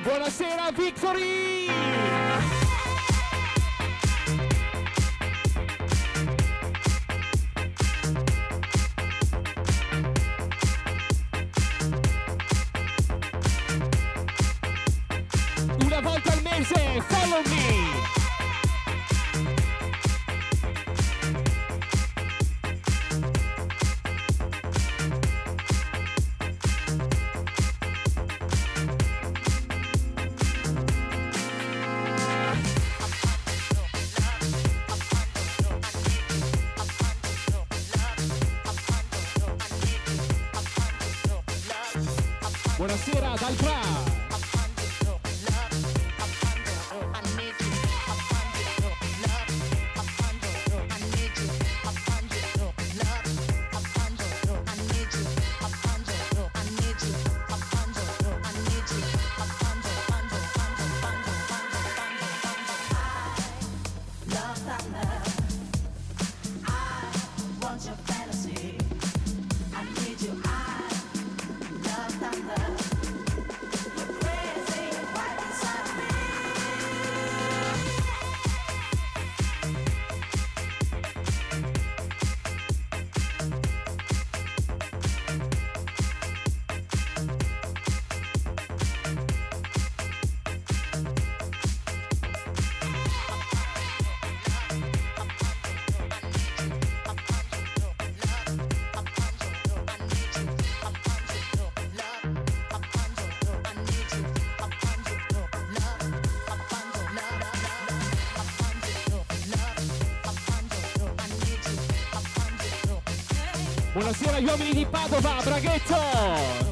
Buonasera Victory! Una volta al mese, follow me! Buonasera dal Pra! Buonasera agli uomini di Padova, Braghetto!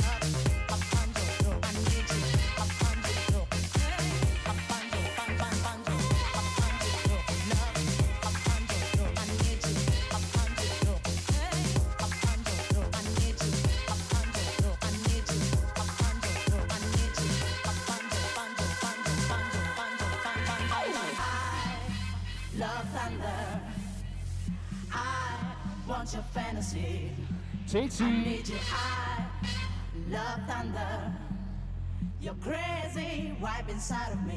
I need you, I love thunder. You're crazy, right inside of me.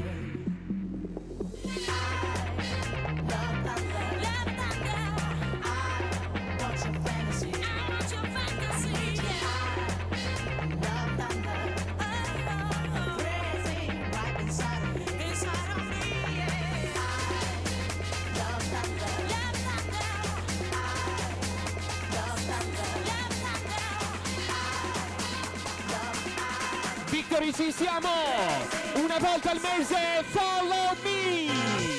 I love thunder. Love thunder. I want your fantasy. I want your fantasy. I need you, I love thunder. You're crazy, right inside of me. Inside of me, yeah. I love thunder. Love thunder. I love thunder. Victory, ci siamo! Una volta al mese, follow me!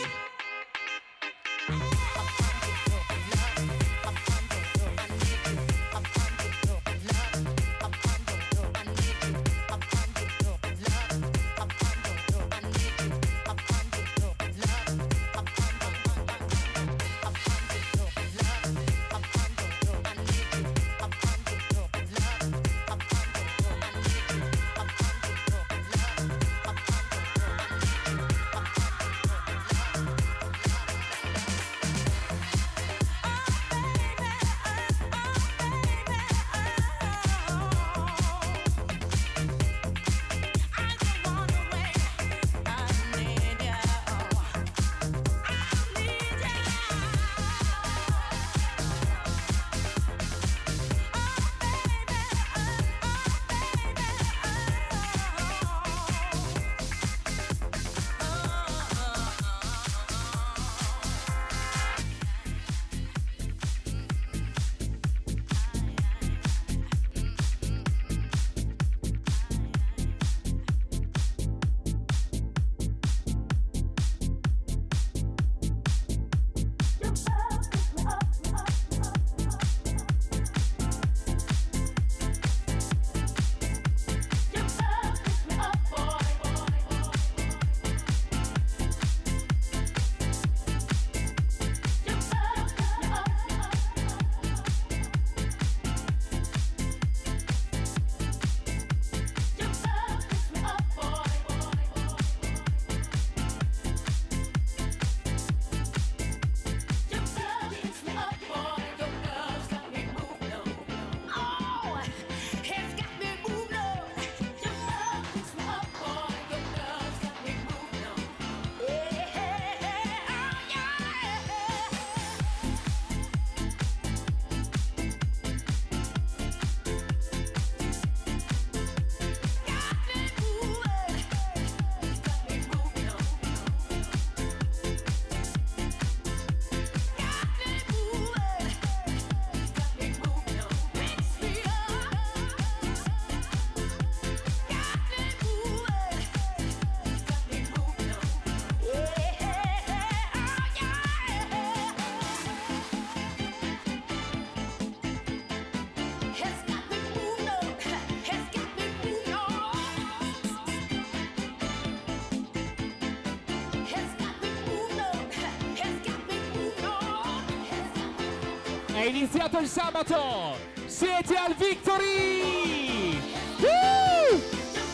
È iniziato il sabato! Siete al Victory! Woo!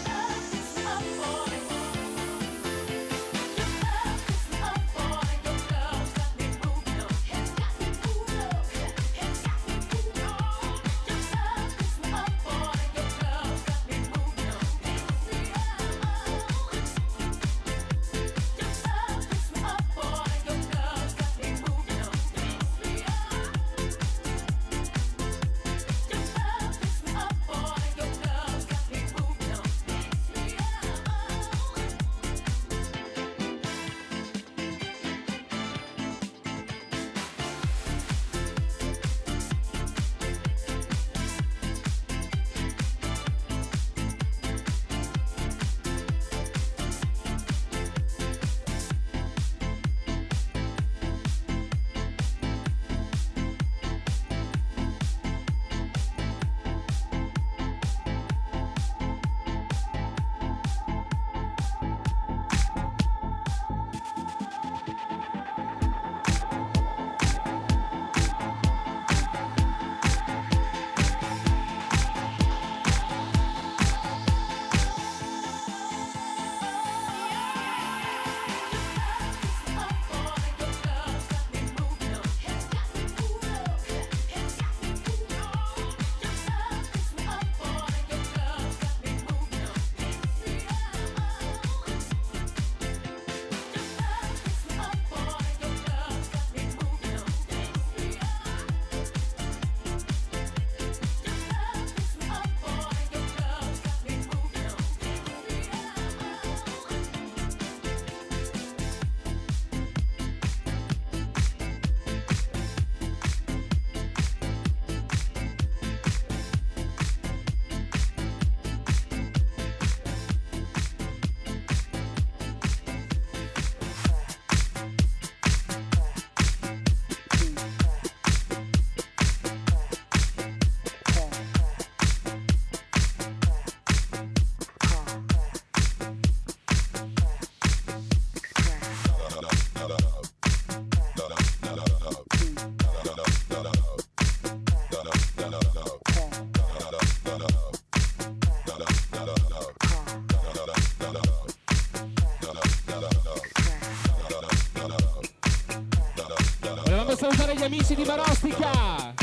Volevamo salutare gli amici di Marostica.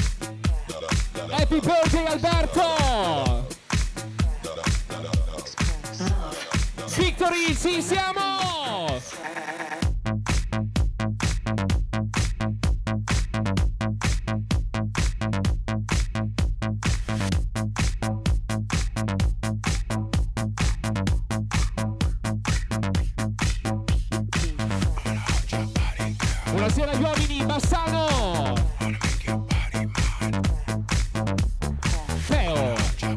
Happy birthday Alberto. Victory, ci siamo. Buonasera agli uomini, Bassano, Teo,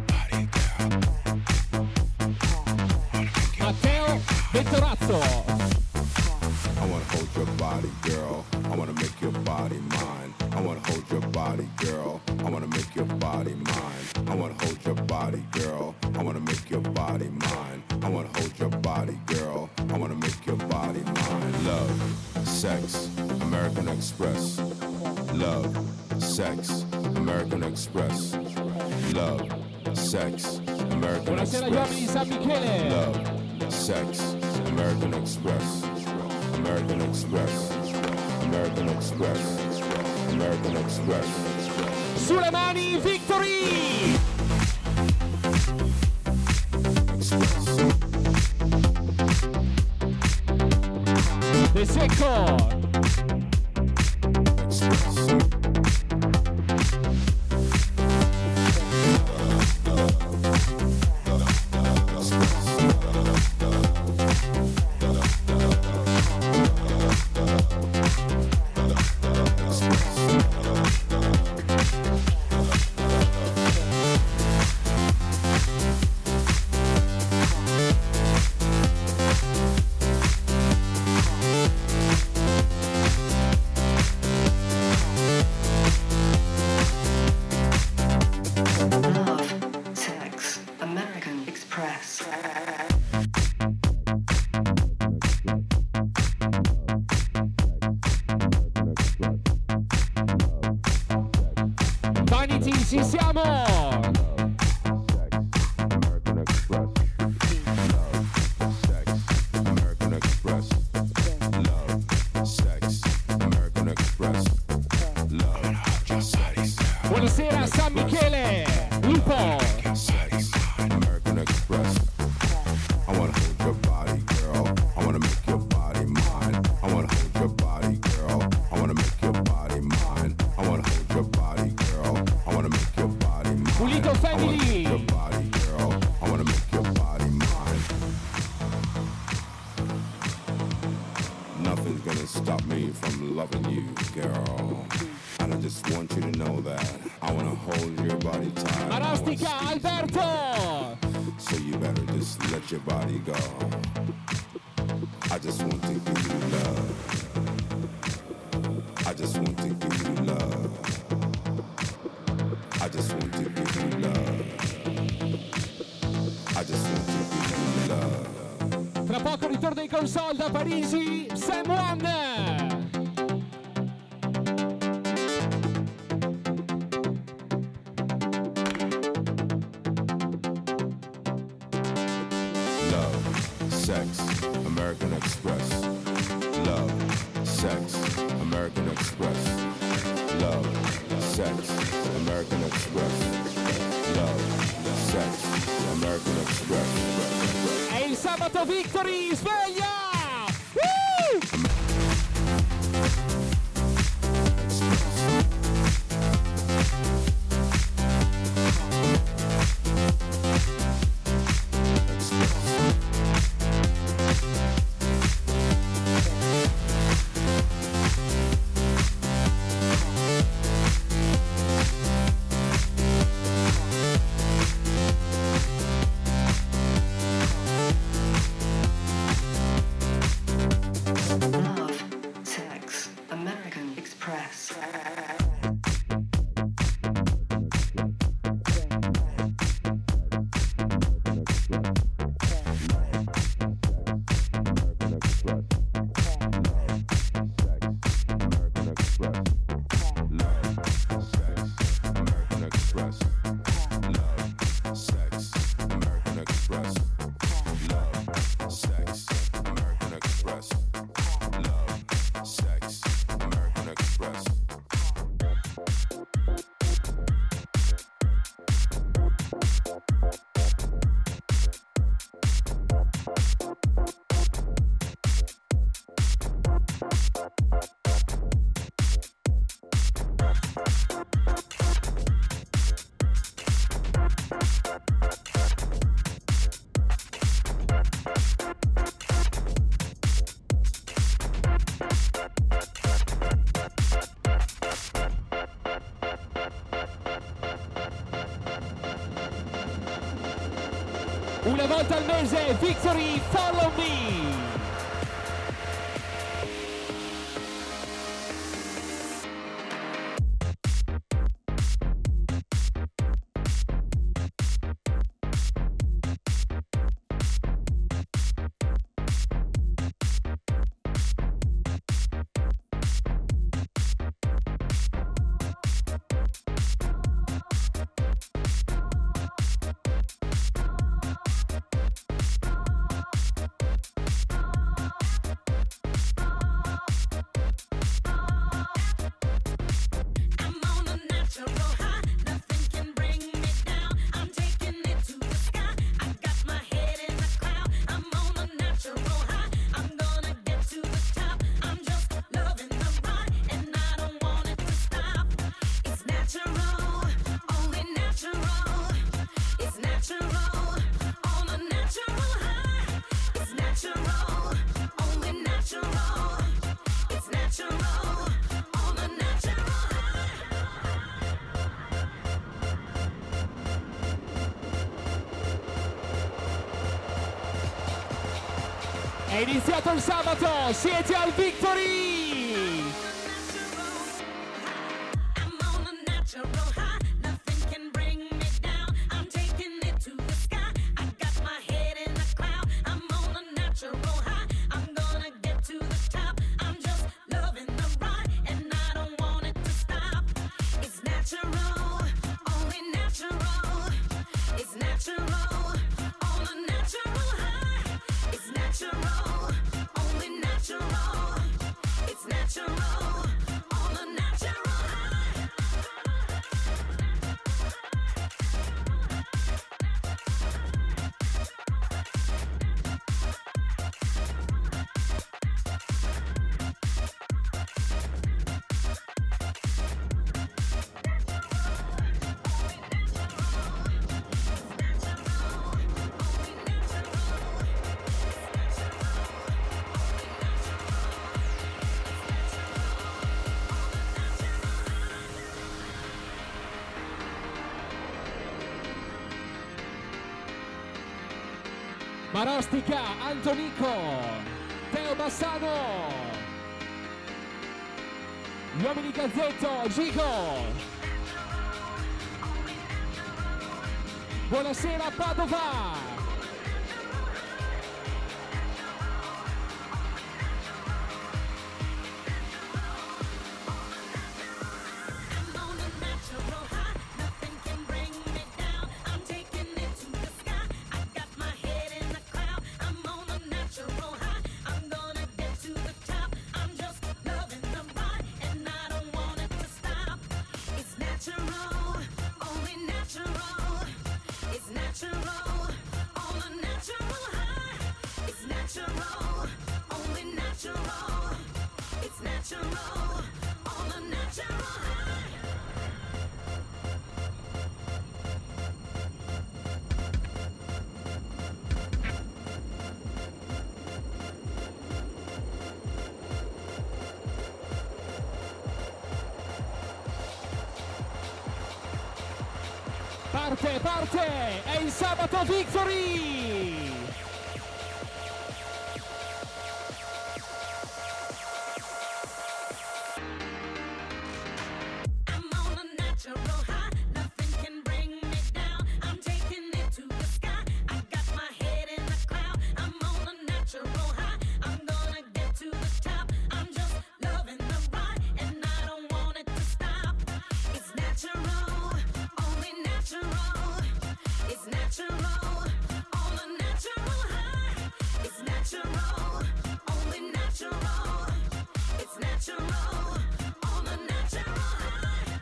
Matteo Ventorazzo. I wanna hold your body, girl. I wanna make your body mine. I wanna hold your body, girl. I wanna make your body mine. I wanna hold your body, girl. I wanna make your body mine. I wanna hold your body, girl. I wanna make your body mine. Love, sex, American Express. Love, sex, American Express. Love, sex, American Buonasera agli uomini di Express. San Michele. Love, sex, American Express. American Express. American Express. American Express. Sulle mani, Victory. Express. De Secco. Express. Love, sex, American Express. Ci siamo! American Express. Love, sex, American Express. Love, sex, American Express. Love, sex. Buonasera San Michele! Lupo! Sex, American Express. I wanna hold your body, girl. I wanna make your body mine. I wanna hold your body, girl. I wanna make your body mine. I wanna hold your body, girl. I wanna make your body mine. Pulito Family! I wanna hold your body, girl. I wanna make your body mine. Nothing's gonna stop me from loving you, girl. And I just want you to know that I wanna hold your body tight. Marastica Alberto! So you better just let your body go. I just want to give you love. I just want to give you love. I just want to give you love. I just want to give you love. Tra poco ritorno in console da Parisi, Sam One! Love, sex, American Express. Love, sex, American Express. Love, sex, American Express. Love, sex, American Express. È il sabato Victory, sveglia! Woo! Love, sex, American Express. Una volta al mese, Victory, Follow Me! I'm on a natural high, nothing can bring me down. I'm taking it to the sky. I got my head in the cloud. I'm on a natural high. I'm gonna get to the top. I'm just loving the ride, and I don't want it to stop. It's natural, only natural. It's natural, on a natural high. It's natural, only natural. It's natural, on a natural high. È iniziato il sabato, siete al Victory! I'm on a natural high. Nothing can bring me down. I'm taking it to the sky. I got my head in the cloud. I'm on a natural high. I'm gonna get to the top. I'm just loving the ride, and I don't want it to stop. It's natural, natural, only natural. It's natural, all a natural high. Marostica, Antonico, Teo Bassano, gli uomini Gazzetto, Gico. Buonasera Padova. I'm on a natural high, nothing can bring me down. I'm taking it to the sky. I got my head in the cloud. I'm on a natural high. I'm gonna get to the top. I'm just loving the ride, and I don't want it to stop. It's natural, only natural. It's natural, all a natural high. It's natural, only natural. It's natural, all a natural high. Parte, è il sabato Victory! I'm on a natural high, nothing can bring me down. I'm taking it to the sky. I got my head in the cloud. I'm on a natural high. I'm gonna get to the top. I'm just loving the ride, and I don't want it to stop. It's natural, only natural. It's natural, all a natural high. It's natural, only natural. It's natural, all a natural high.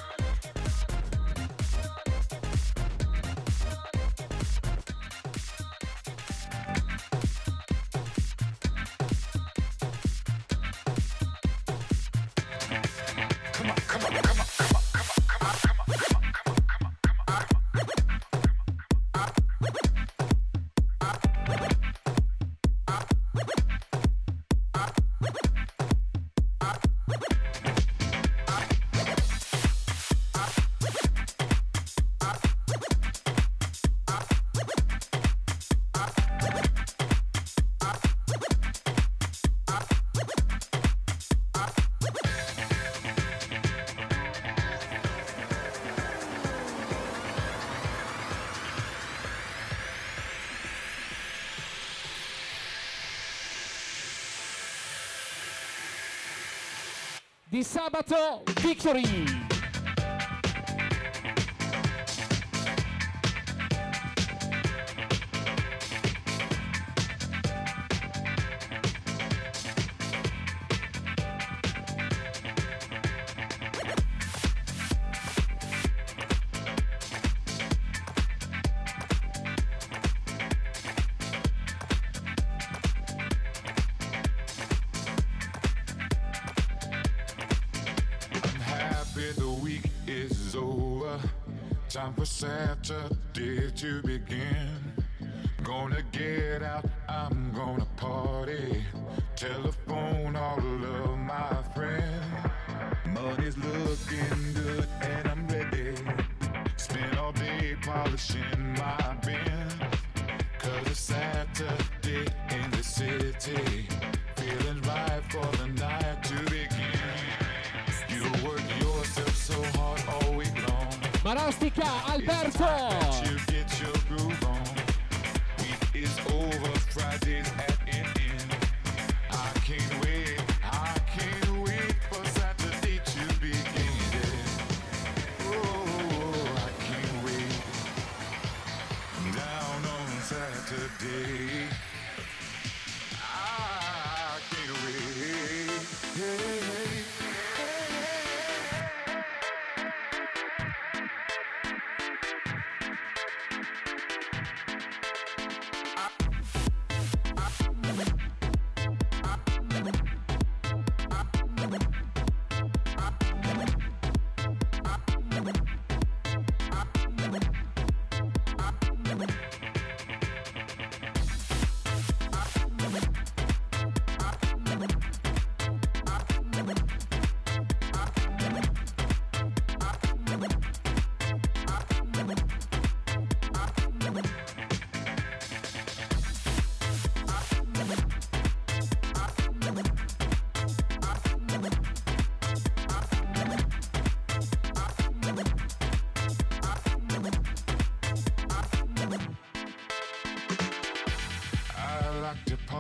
Di sabato Victory! The week is over. Time for Saturday to begin. Gonna get out, I'm gonna party. Telephone all of my friends. Money's looking good and I'm ready. Spend all day polishing my Benz. 'Cause it's Saturday in the city. Feeling right for the night to begin. You work yourself so hard all week long. Marostica, Alberto! You get your groove on. Week is over, Friday's at an end. I can't wait for Saturday to begin. Oh, I can't wait. Down on Saturday.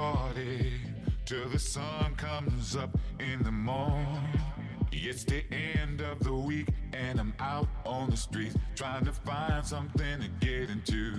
party till the sun comes up in the morning. It's the end of the week and I'm out on the streets trying to find something to get into.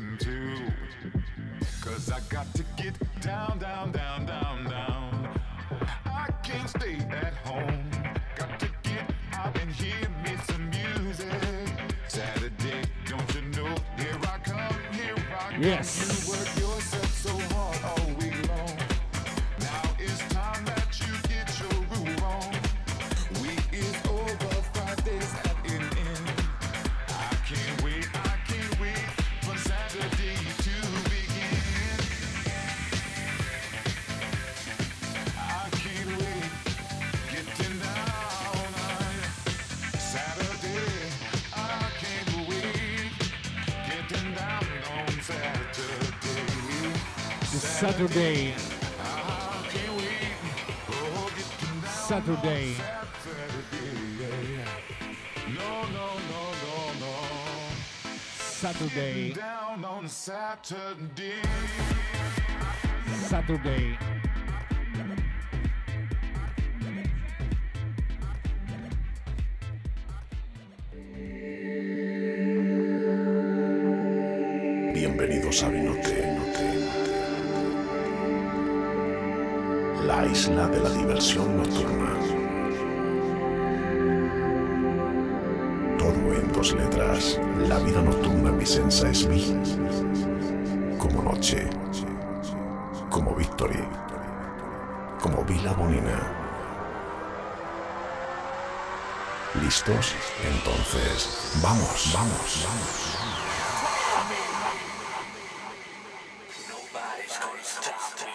'Cause I got to get down, down, down, down, down. I can't stay at home. Got to get out and hear me some music. Saturday, don't you know? Here I come, here I come. Yes. You work yourself so hard all week long. Now it's time that you get your groove on. Week is over, Friday's at an end. I can't wait for Saturday to begin. I can't wait, getting down on Saturday. I can't wait, getting down on Saturday. Saturday. I can't wait, oh, getting down Saturday. on Saturday. No. Saturday. Down on Saturday. Saturday. Bienvenidos a Vinote, la isla de la diversión nocturna. Todo en 2 letras. La vida nocturna mi sensa es vi. Como noche, como Victory, como Vila Bonina. ¿Listos? Entonces, vamos. Nobody's gonna stop me.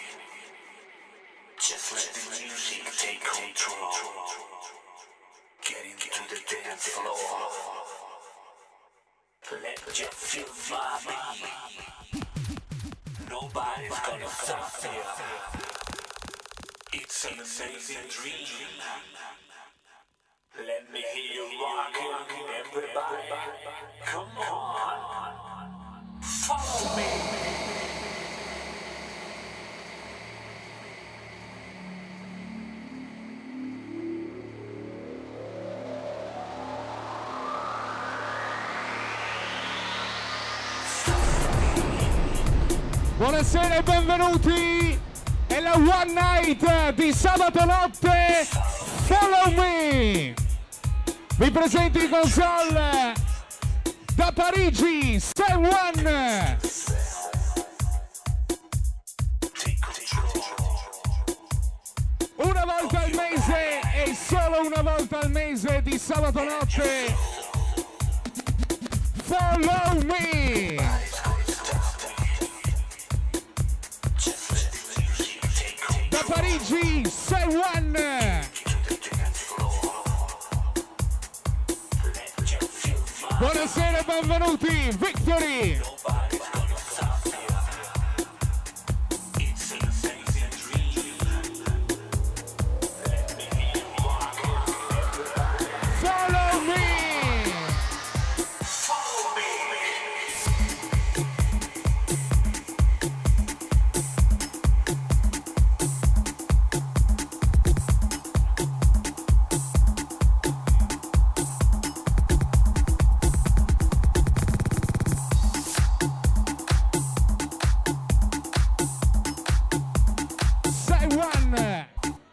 Just let the music take control. Get into the dance floor. Let your feel my beat. Nobody's gonna stop me. It's an amazing dream. Let me hear you rockin', everybody. Come on, follow me. Buonasera e benvenuti! È la One Night di sabato notte. Follow me! Vi presento in console da Parigi, Stay One! Una volta al mese e solo una volta al mese di sabato notte. Follow me! Da Parigi, Say One! Buonasera e benvenuti, Victory! Follow me! Say One!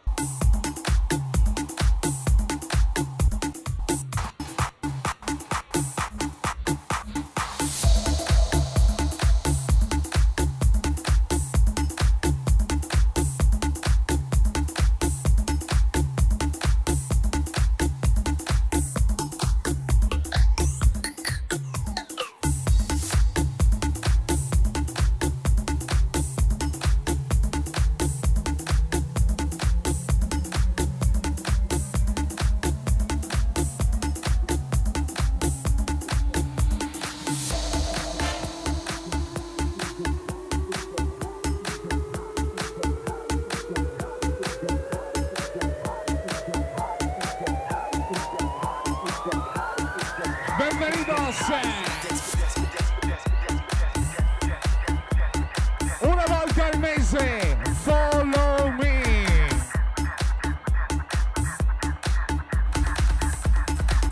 Benvenidos! Una volta al mese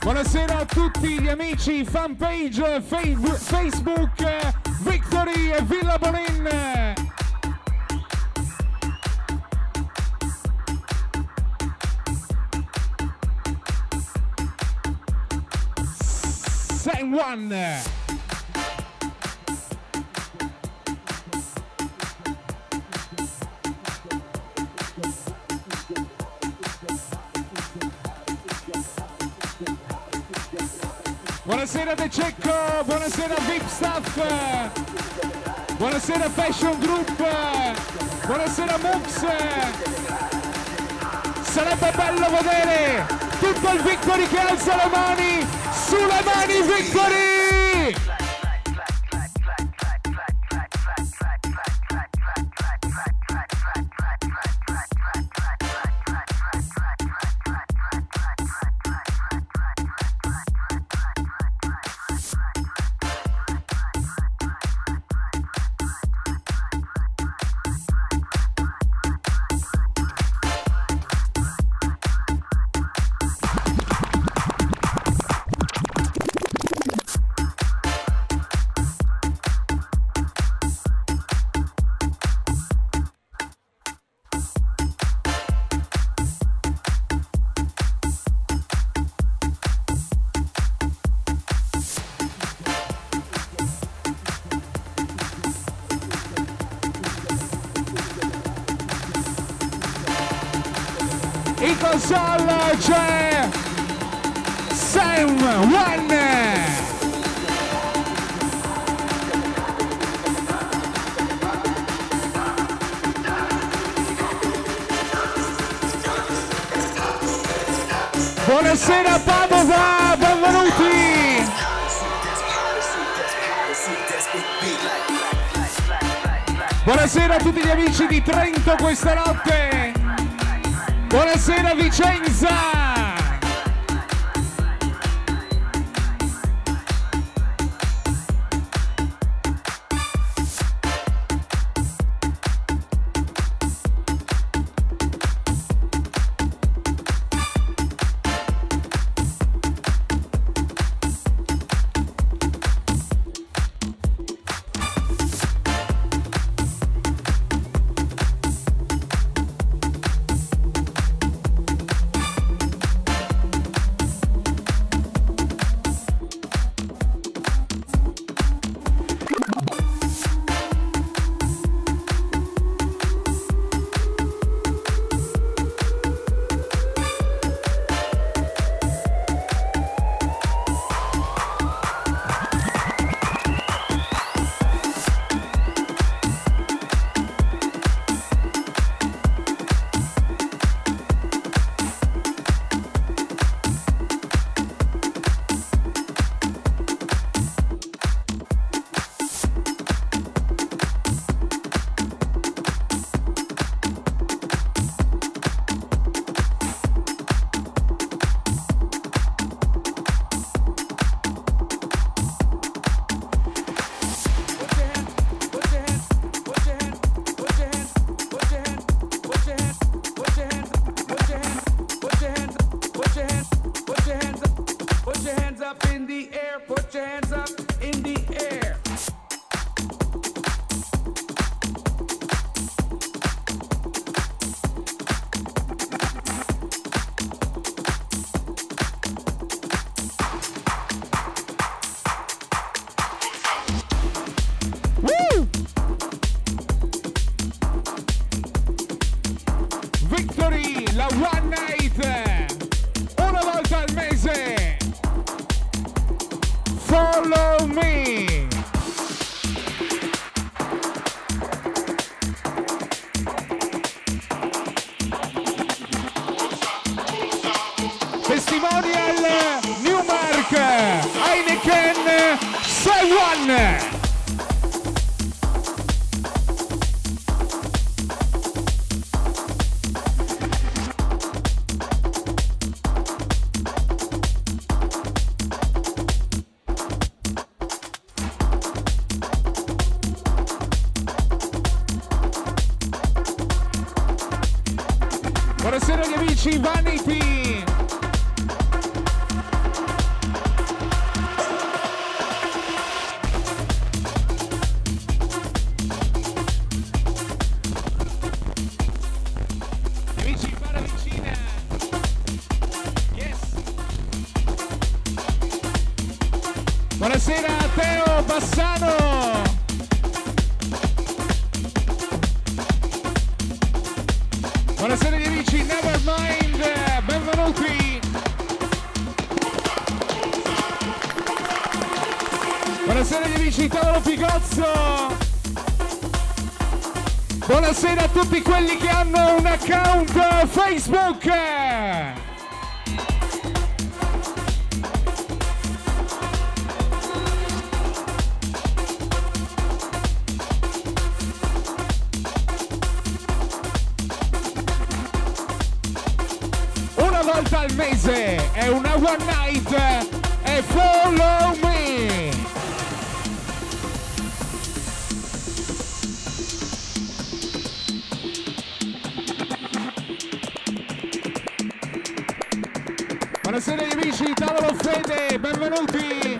Buonasera a tutti gli amici fanpage Facebook Victory e Villa Bonin. San Juan. Buonasera De Cecco, buonasera VIP Staff, buonasera Fashion Group, buonasera Mux. Sarebbe bello vedere tutto il Victory che alza le mani, sulle mani Victory! In console c'è Sam One. Buonasera Padova, benvenuti. Buonasera a tutti gli amici di Trento questa notte. Buonasera Vicenza! Victory, la One Night, una volta al mese. Follow me. Testimonial Newmark, Heineken, Say One. Buonasera agli amici Vanity. amici, tavolo Picozzo. Buonasera a tutti quelli che hanno un account Facebook. Una volta al mese è una one night e follow me. Buonasera amici, tavolo Fede, benvenuti!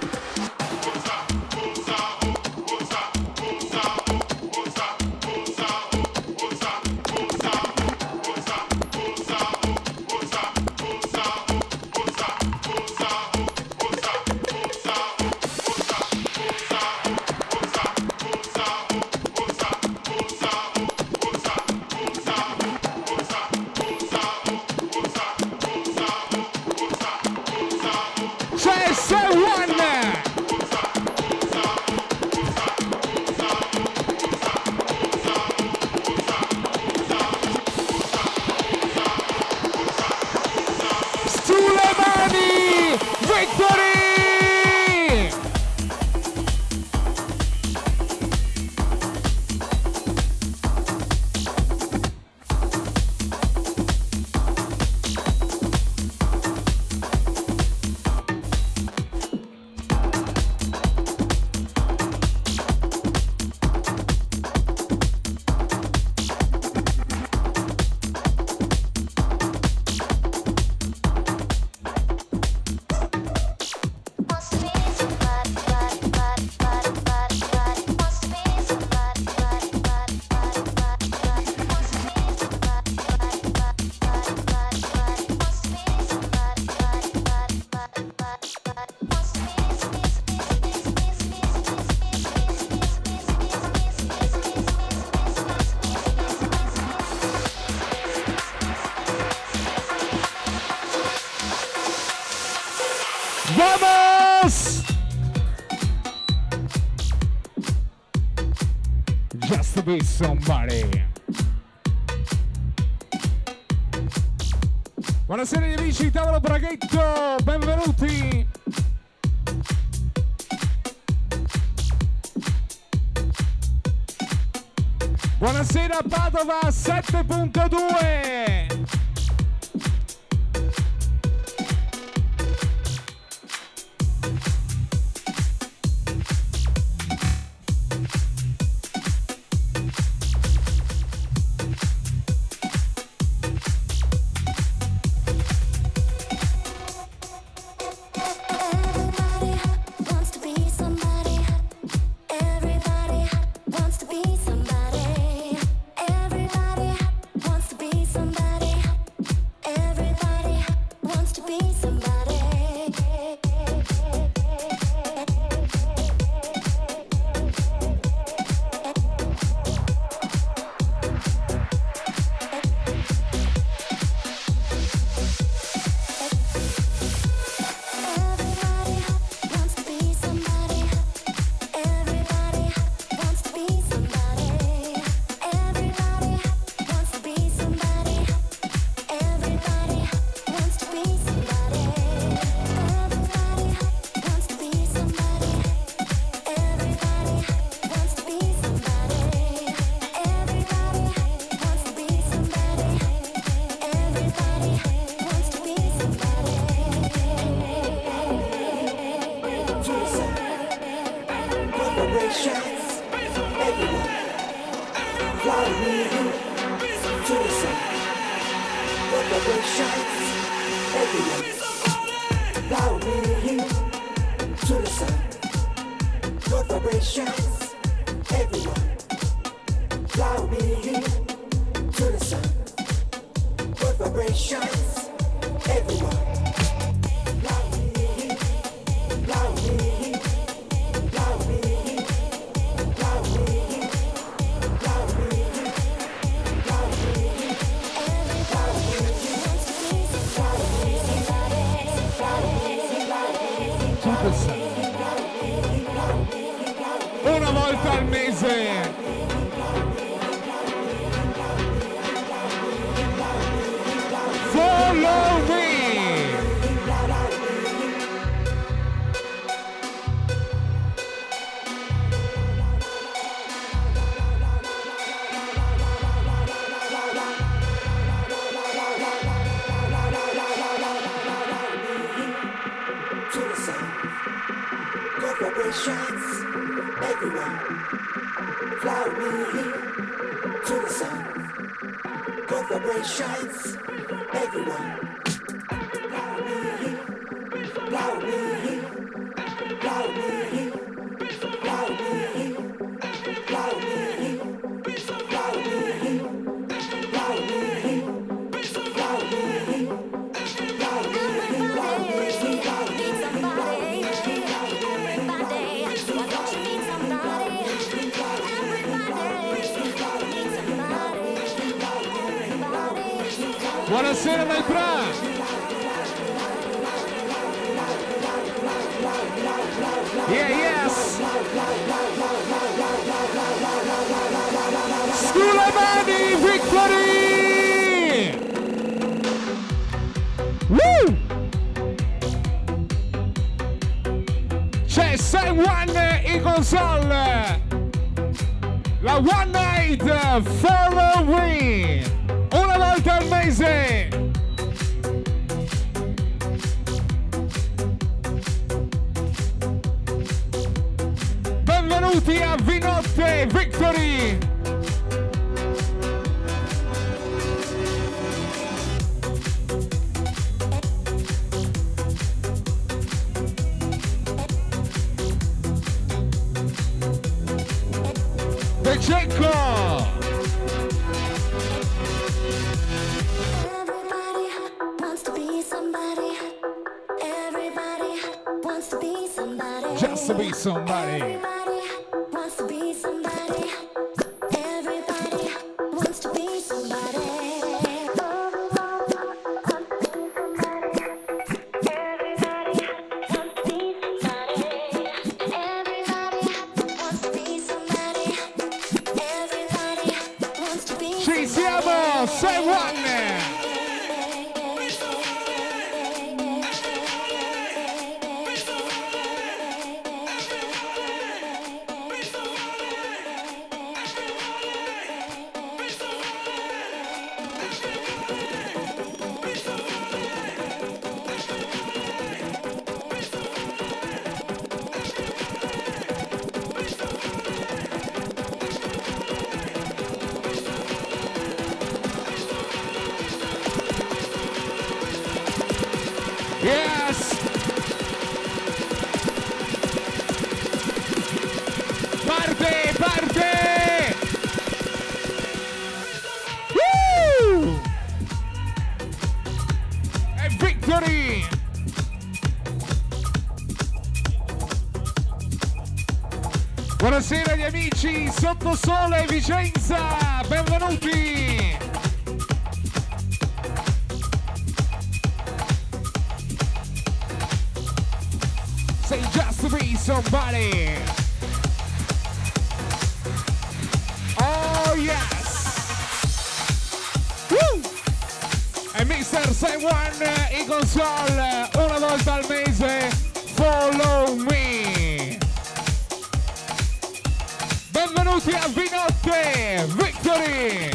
¡Vamos! Just to be somebody. Buonasera gli amici, tavolo Braghetto, benvenuti. Buonasera Padova 7.2. Follow me. Vibrations everywhere. Fly with me to the sun. Good vibrations everywhere. Fly with me, fly with me, fly with me, fly with me, fly with me, fly with me, fly with me, fly with me, fly with me. Buonasera nel bra. Yeah, yes. Sculamani Victory. Woo! C'è Sam One in console. La One Night Follow Me. Una volta al mese. Benvenuti a Vinotte Victory. De Cecco. Just to be somebody. Everybody wants to be somebody. Everybody wants to be somebody. Ci siamo, Say One. Yes! Parte, parte! Woo! E Victory! Buonasera agli amici Sottosole Vicenza, benvenuti! Say just to be somebody. Oh yes. Woo! E Mr. Say One in console una volta al mese. Follow me. Benvenuti a Vinotte Victory.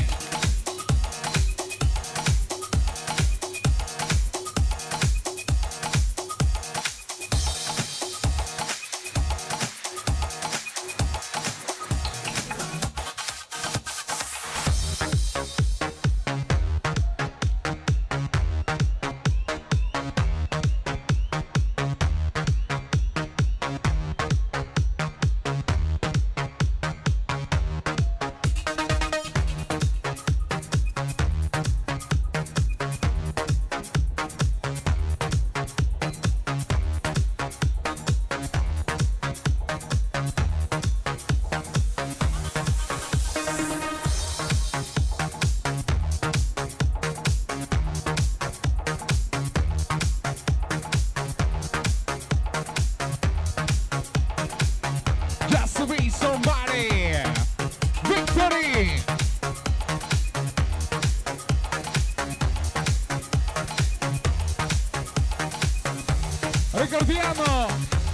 Ricordiamo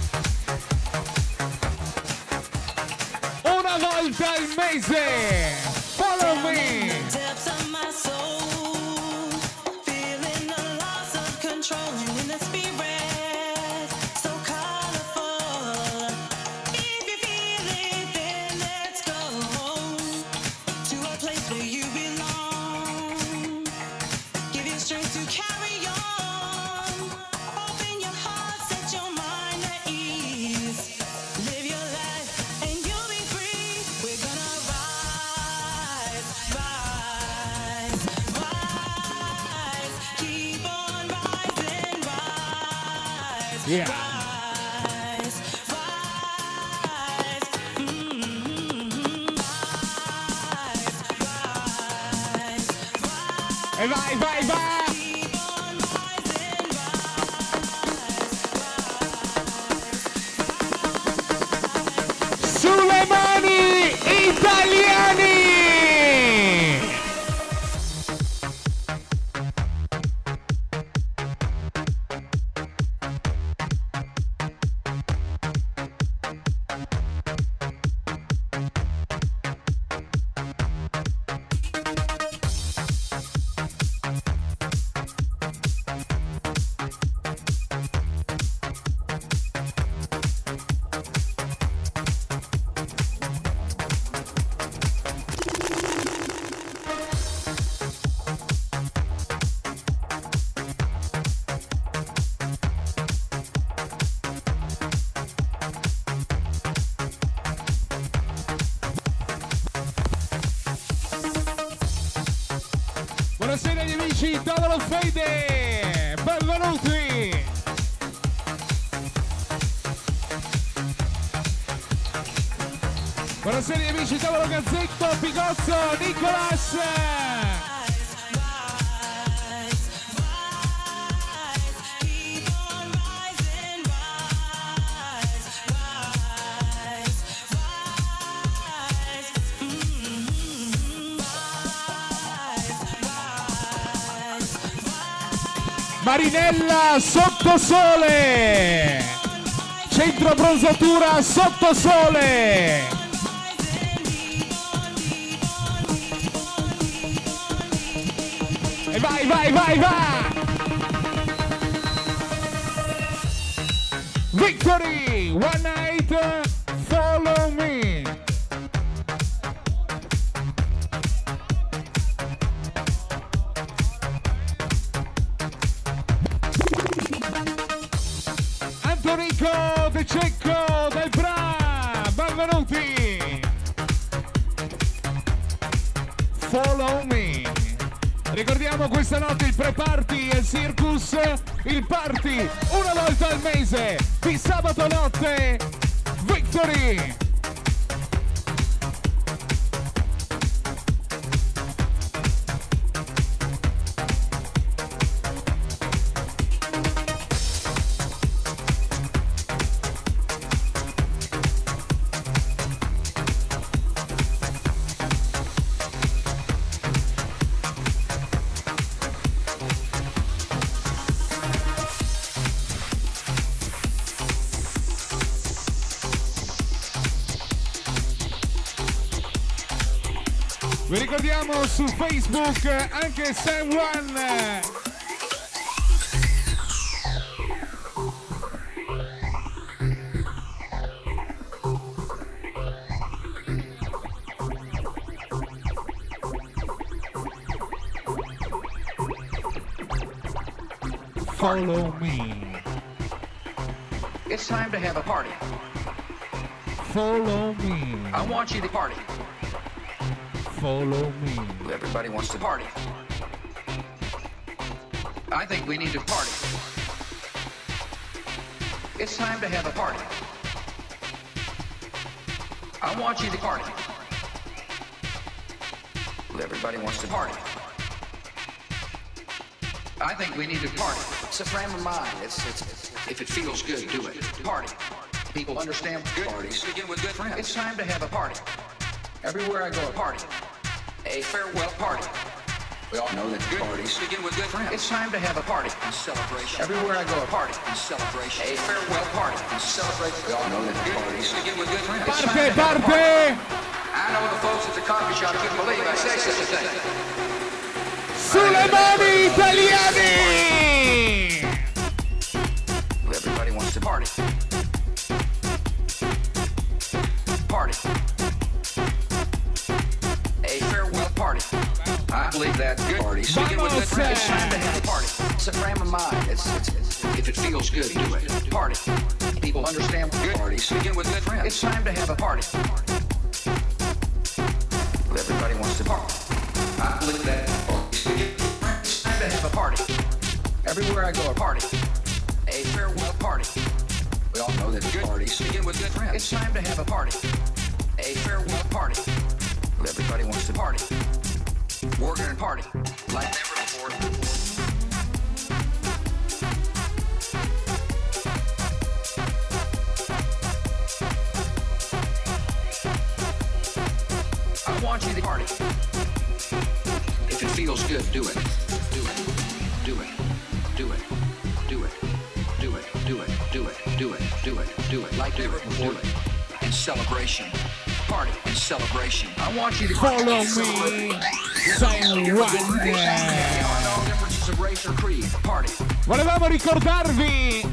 una volta al mese. Follow me. Depths of my soul, feeling the loss of control in the spirit, so colorful. If you feel it, then let's go to a place where you belong. Give you strength to carry on. Open your heart, set your mind at ease. Live your life and you'll be free. We're gonna rise, rise, rise. Keep on rising, rise, Yeah. rise, rise. Rise, rise. E vai, vai, vai. Keep on rising, rise. Sulle mani italiani. Buonasera agli amici, Tavolo Fede, benvenuti! Buonasera agli amici, Tavolo Gazzetto, Picozzo, Nicolas! Keep on rising, rise, rise, rise. Marinella Sottosole! Centro bronzatura Sottosole! E vai, vai, vai, vai! Victory! One night, follow me! Antonico De Cecco del Bra, benvenuti! Follow me! Ricordiamo questa notte il pre-party e il circus, il party una volta al mese di sabato notte, Victory! Vi ricordiamo su Facebook anche Sam One. Follow me. It's time to have a party. Follow me. I want you to party. Follow me. Everybody wants to party. I think we need to party. It's time to have a party. I want you to party. Everybody wants to party. I think we need to party. It's a frame of mind. If it feels good, do it. Party. People understand good parties begin with good friends. It's time to have a party. Everywhere I go, a party. A farewell party. We all know that good parties begin with good friends. It's time to have a party and celebration. Everywhere I go, a party and celebration. A farewell party and celebration. We all know that good parties begin with good friends. It's time to have a Parte! party. I know the folks at the coffee shop couldn't believe I said such a thing. Sulle mani italiani! Everybody wants to party. Party. A farewell party. I believe that good parties begin with good friends. It's time to have a party. It's a frame of mind. If it feels good, do it. Party. People understand good parties begin with good friends. It's time to have a party. Everybody wants to party. I believe that parties begin with good friends. It's time to have a party. Everywhere I go, a party. A farewell party. We all know that good parties begin with good friends. It's time to have a party. A farewell party. Everybody wants to party. We're gonna party like never before. I want you to party. If it feels good, do it. Do it. Do it. Do it. Do it. Do it. Do it. Do it. Do it. Do it. Do it. Like never before. Do it. In celebration. Party and celebration. I want you to Follow me. Say one. Volevamo ricordarvi,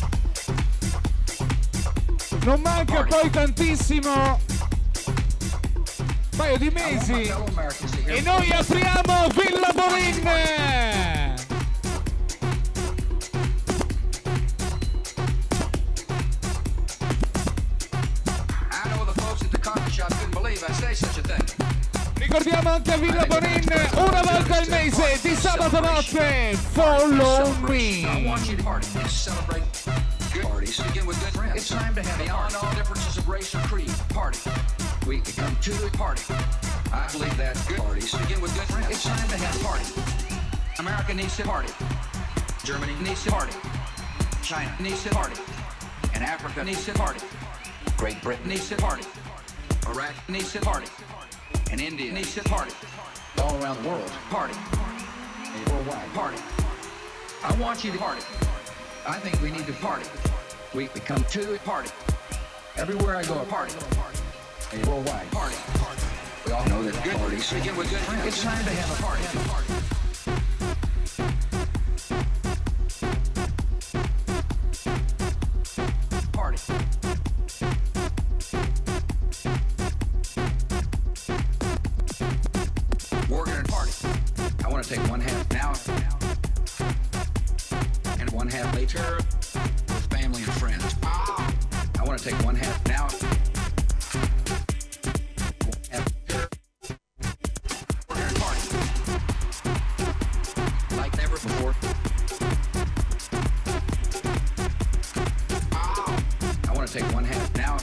non manca poi tantissimo, un paio di mesi, e noi apriamo Villa Bonin. Ricordiamo anche a Villa Bonin una volta al mese di sabato notte. Follow me. I want you to party and celebrate good parties. Begin with good friends. It's time to have beyond all differences of race or creed. Party. We become to a party. I believe that good parties begin with good friends. It's time to have a party. America needs to party. Germany needs to party. China needs to party. And Africa needs to party. Great Britain needs to party. Iraq needs to party. And India needs to party. All around the world, party. A worldwide party. I want you to party. I think we need to party. We come to a party. Everywhere I go, a party. A worldwide party. We all know that good parties begin with good friends. It's time to have a party. Party. We're gonna party. I want to take one half now and one half later with family and friends. I want to take one half now. We're gonna party like never before. I want to take one half now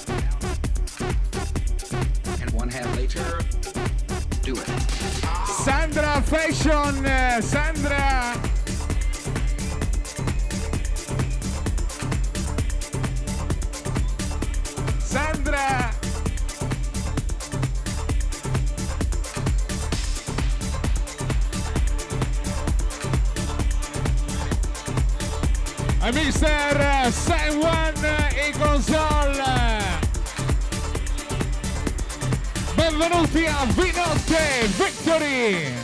and one half later. Do it. Sandra Fashion, Sandra. Sandra. A Mr. San Juan in console. Benvenuti a Vinotte Victory!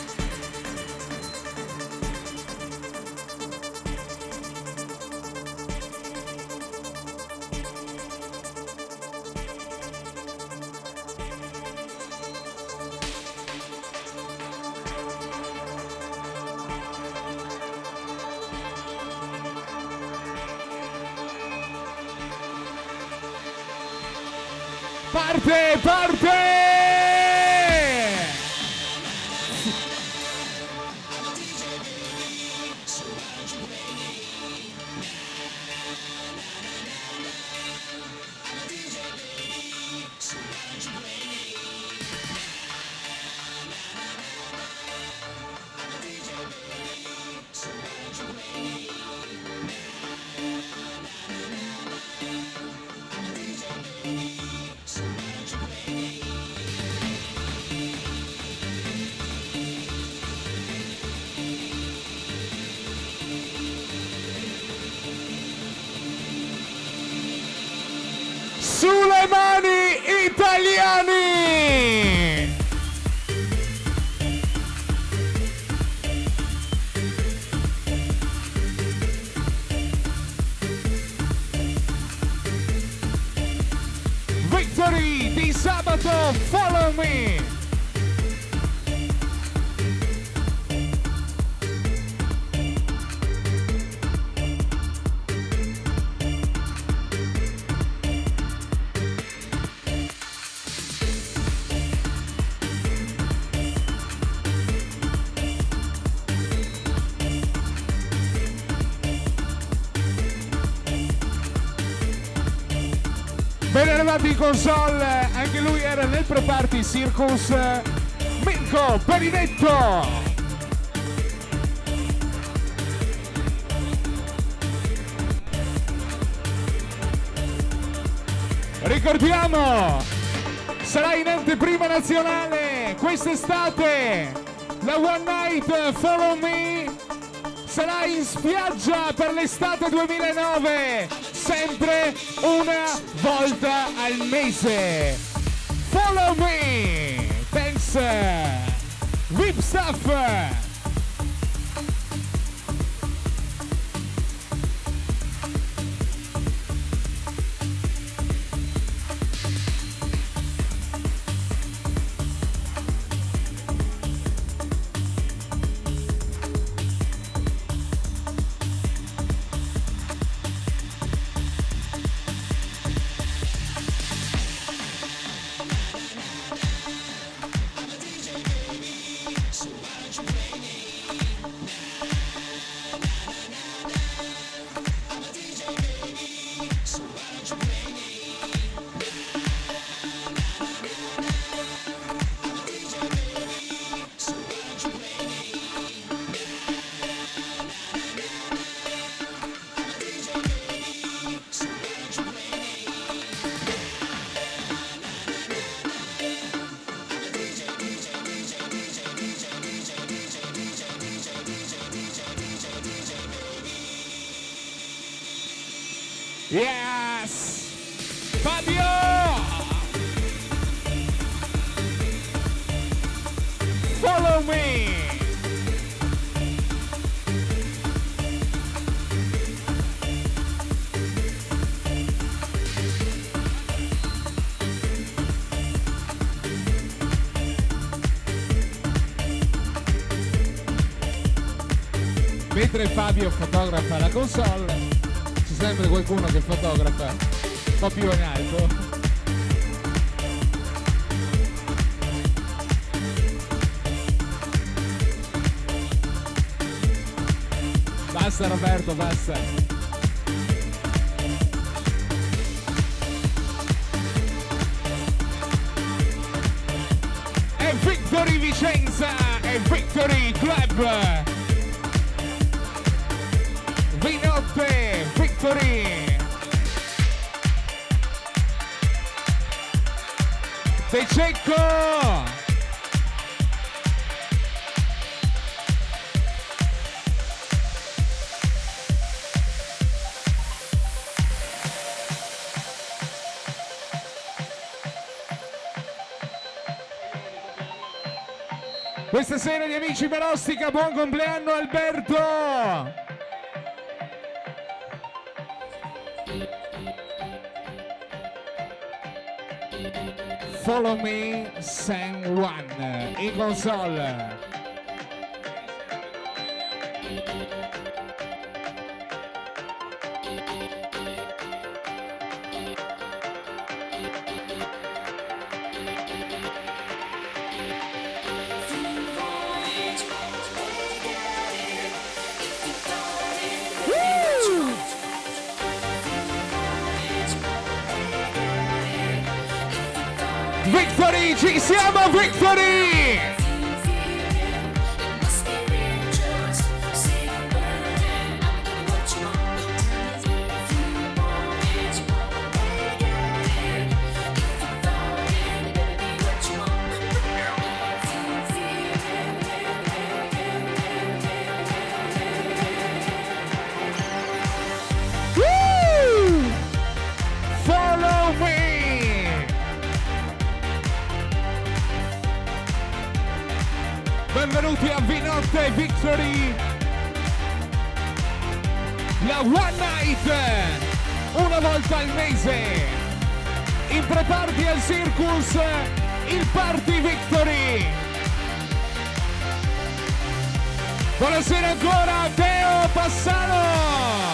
Parte, parte! sabato Follow Me. Ben arrivati in console, anche lui era nel pre-party Circus, Mirko Perinetto. Ricordiamo, sarà in anteprima nazionale quest'estate, la One Night Follow Me, sarà in spiaggia per l'estate 2009, sempre una volta al mese. Follow Me, thanks, VIP Stuff. Yes! Fabio! Follow me! Mentre Fabio fotografa la console, sempre qualcuno che fotografa un po' più in alto. Basta Roberto, basta. E Victory Vicenza e Victory Club. Vinotte, Victory! De Cecco! Questa sera gli amici Merostica, buon compleanno Alberto! Follow Me San Juan in console. Victory, ci siamo Victory! Woo! Follow me! Benvenuti a Vinotte Victory, la One Night, una volta al mese. in pre-party al Circus, il Party Victory. Buonasera ancora Teo Passano.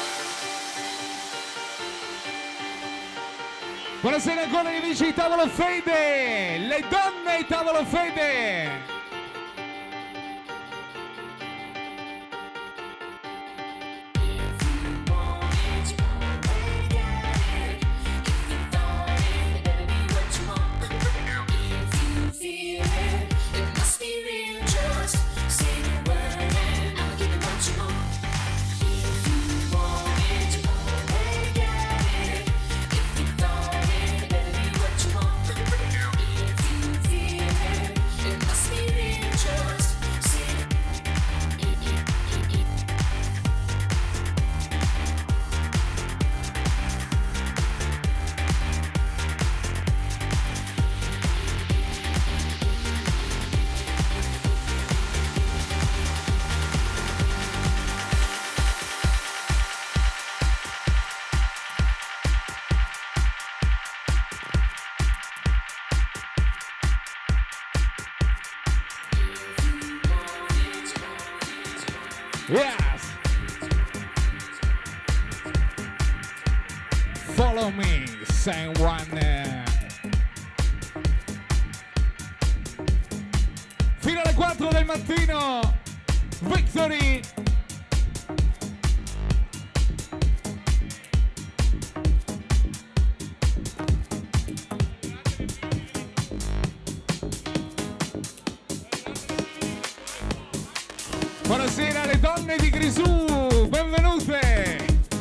Buonasera ancora gli amici di Tavolo Fede, le donne di Tavolo Fede. Yes! Follow me, someone. Fino alle 4 del mattino, Victory! Buonasera alle donne di Grisù, benvenute!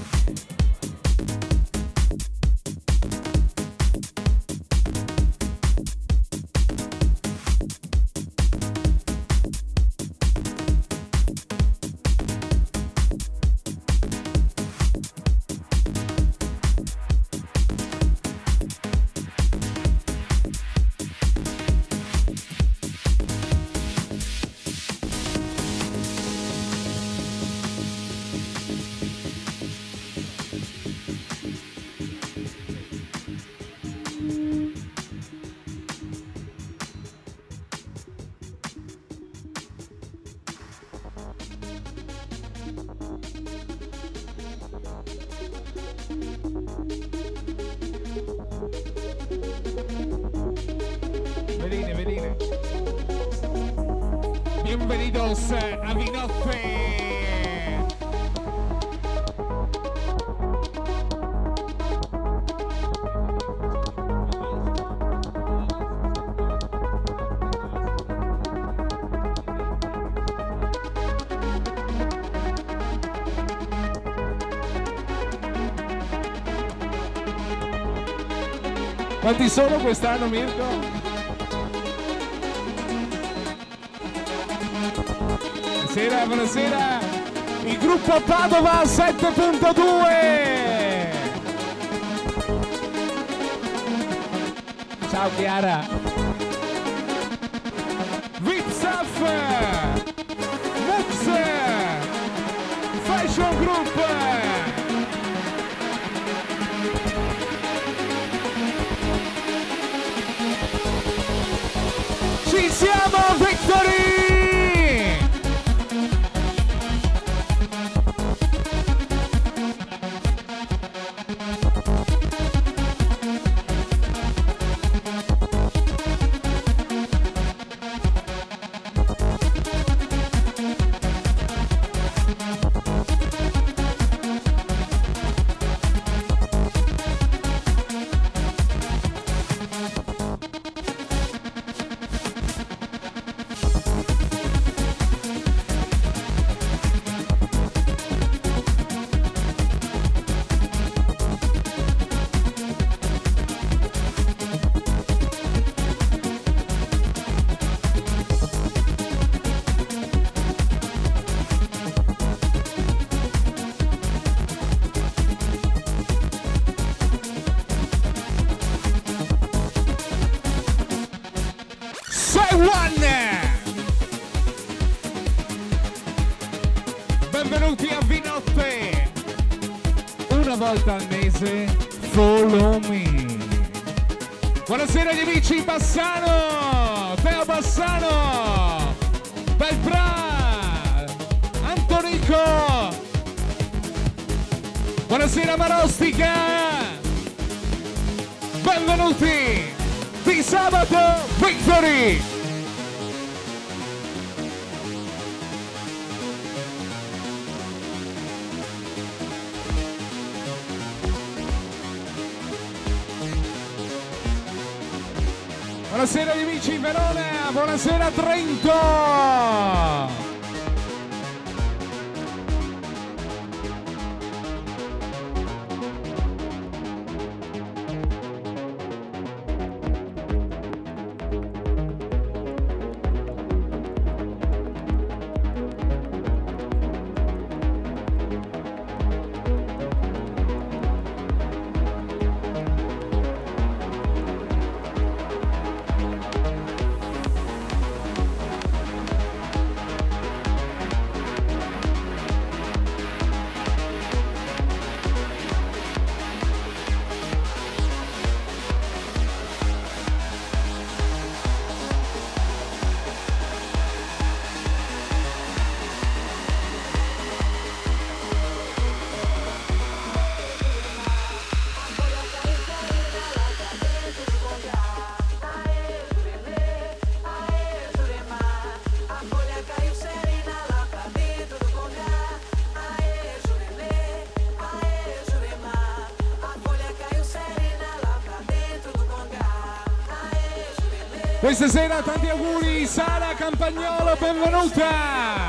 Veline. Bienvenidos a Vinote. Quanti sono quest'anno, Mirko? Buonasera, il gruppo Padova 7.2. Ciao Chiara. Vitsaf, Mux, Fashion Group. Ci siamo, Victory! Benvenuti a Vinotte, una volta al mese, follow me. Buonasera agli amici Bassano, Teo Bassano, Belpra, Antonico. Buonasera Marostica. Benvenuti di Sabato Victory. Buonasera agli amici in Verona, buonasera Trento. Questa sera tanti auguri, Sara Campagnolo, benvenuta!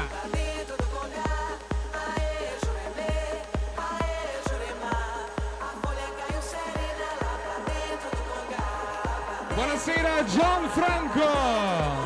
Buonasera Gianfranco!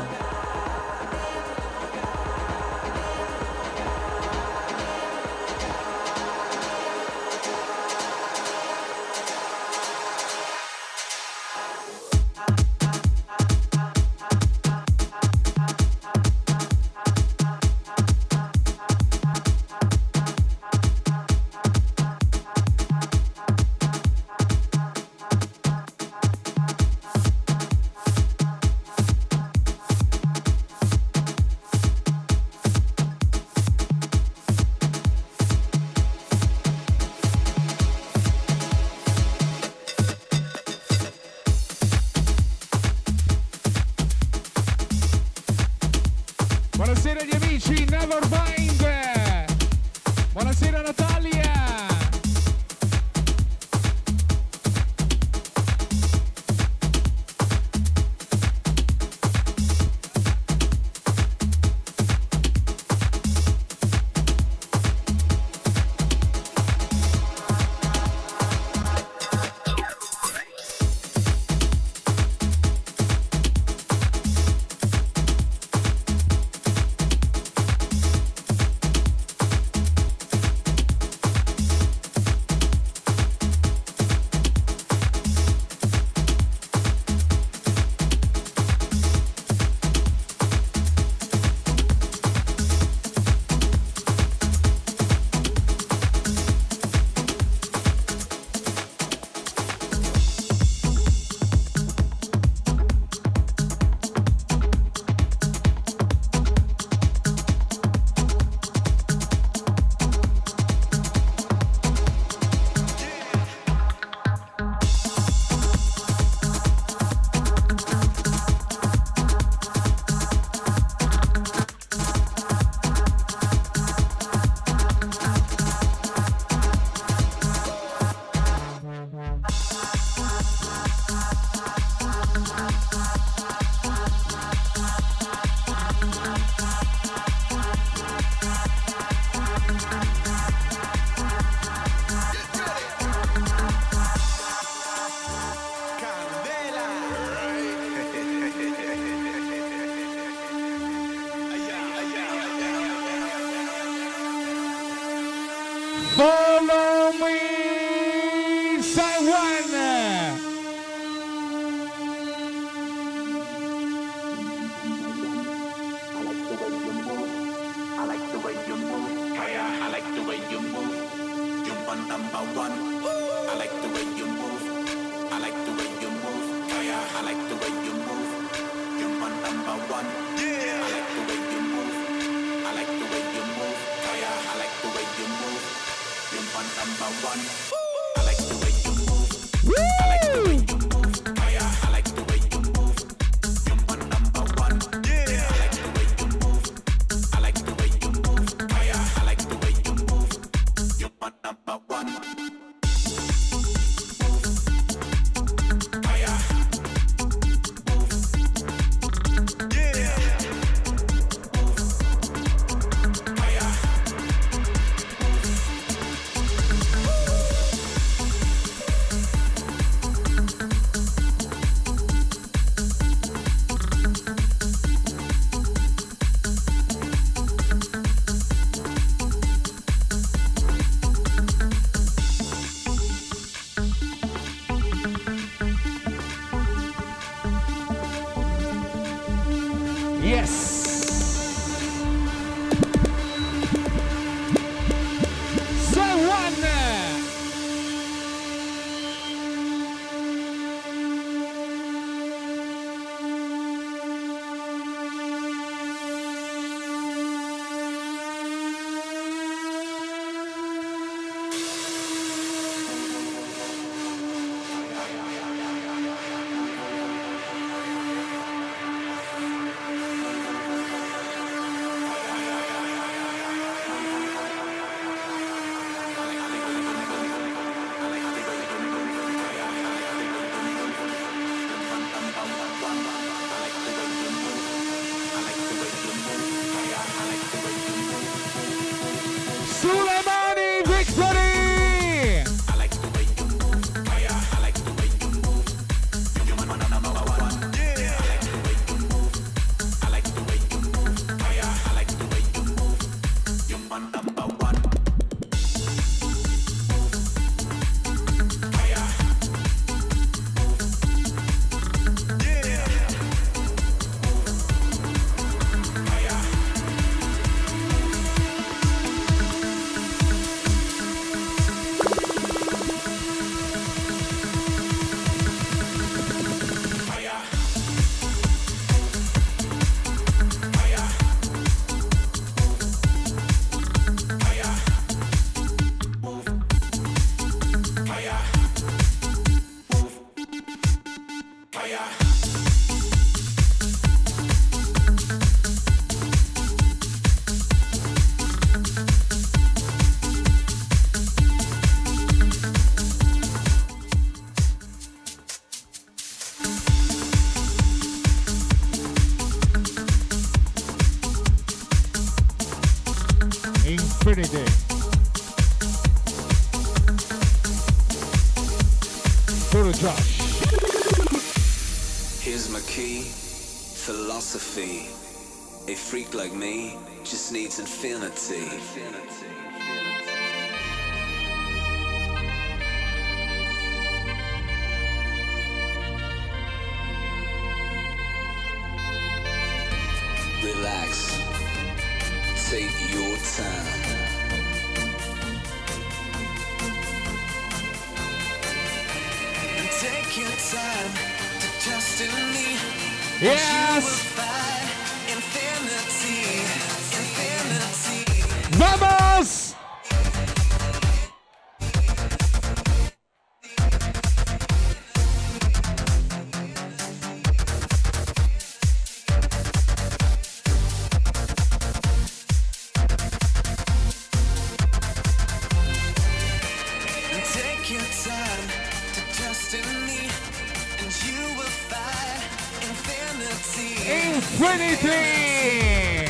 Buonasera agli amici Nevermind. Buonasera Natalia. Follow me, Taiwan. I like the way you move. I like the way you move. You're one number one. I like the way you move. I like the way you move. one. Yeah. I like the way you move. I like the way you move. Fire. I like the way you move. You're my number one. I like the way you move. I like the way you move. Fire. I like the way you move. You're my number one. Yeah. I like the way you move. I like the way you move. Fire. I like the way you move. You're my number one. Infinity. Go to Josh. Here's my key, philosophy. A freak like me just needs infinity. Relax. Take your time. Take your time to trust in me. Yes. Infinity, infinity. Vamos. Take your time to trust in me, and you will find infinity. Infinity.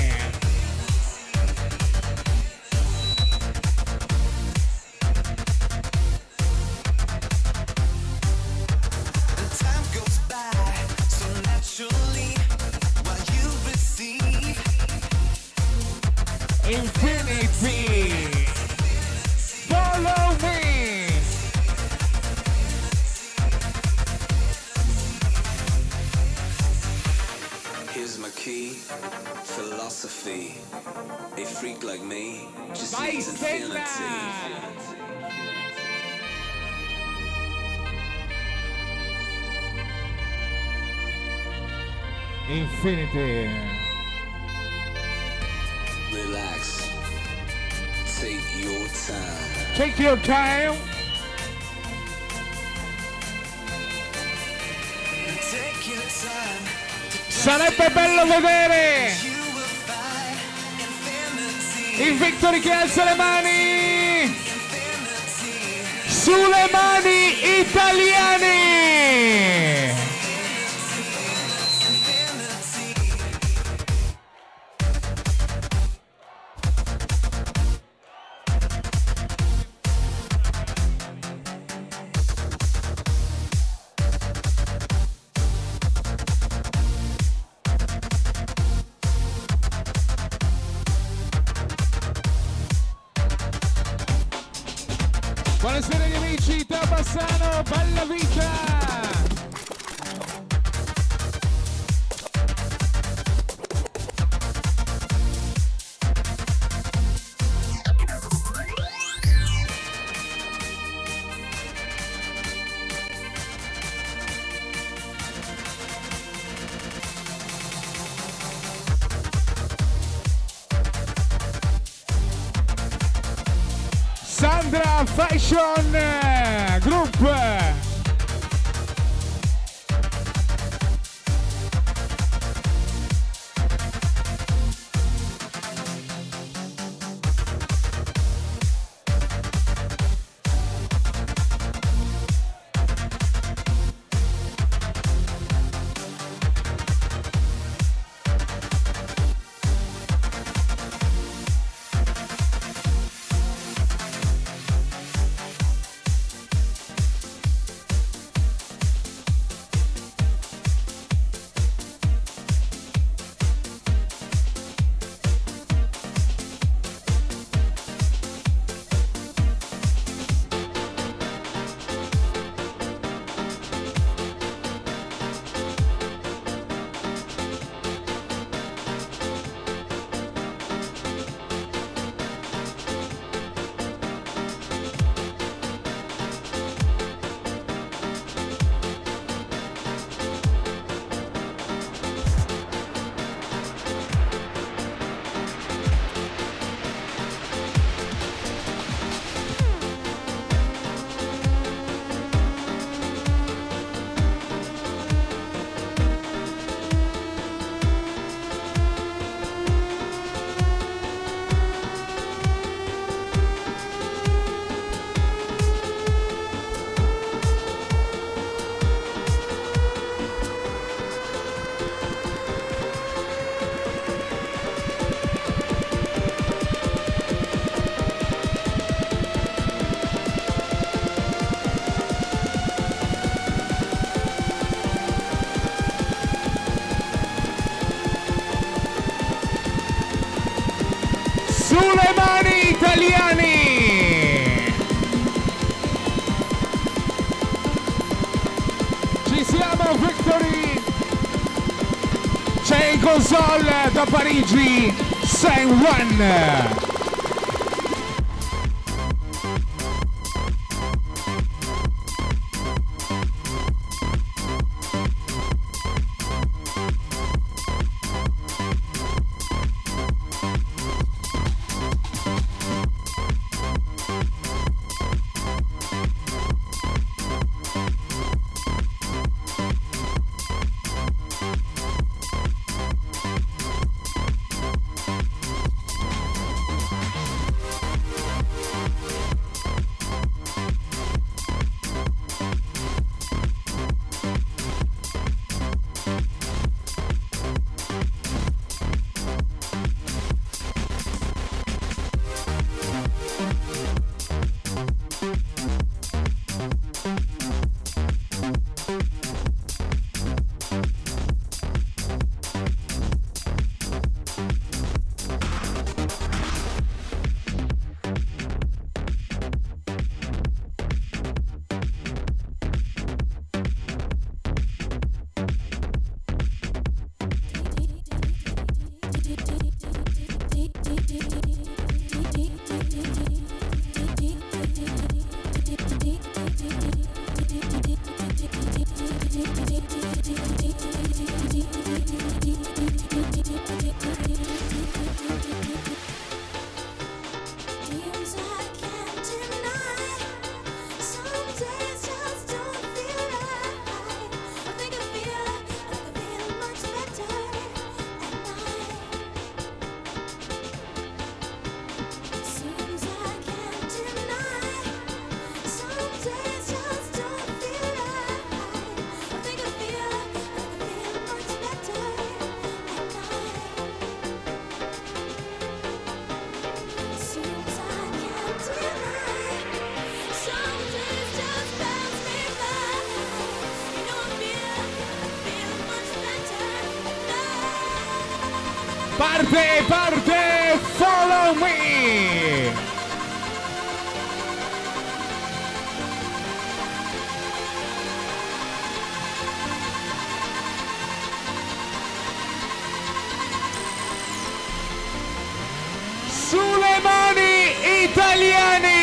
And time goes by so naturally while you receive Infinity. Follow me. Here's my key, philosophy. A freak like me just Vai, needs Stella. infinity. Infinity. Relax. Take your time. Take your time. Take your time. Sarebbe bello vedere il Victory che alza le mani sulle mani italiane. Buonasera gli amici, Teo Bassano, bella vita! Sandra Fashion Group. Sulle mani italiani! Ci siamo, Victory! C'è in console da Parigi, Saint One! Parte, follow me! Sulle mani italiani!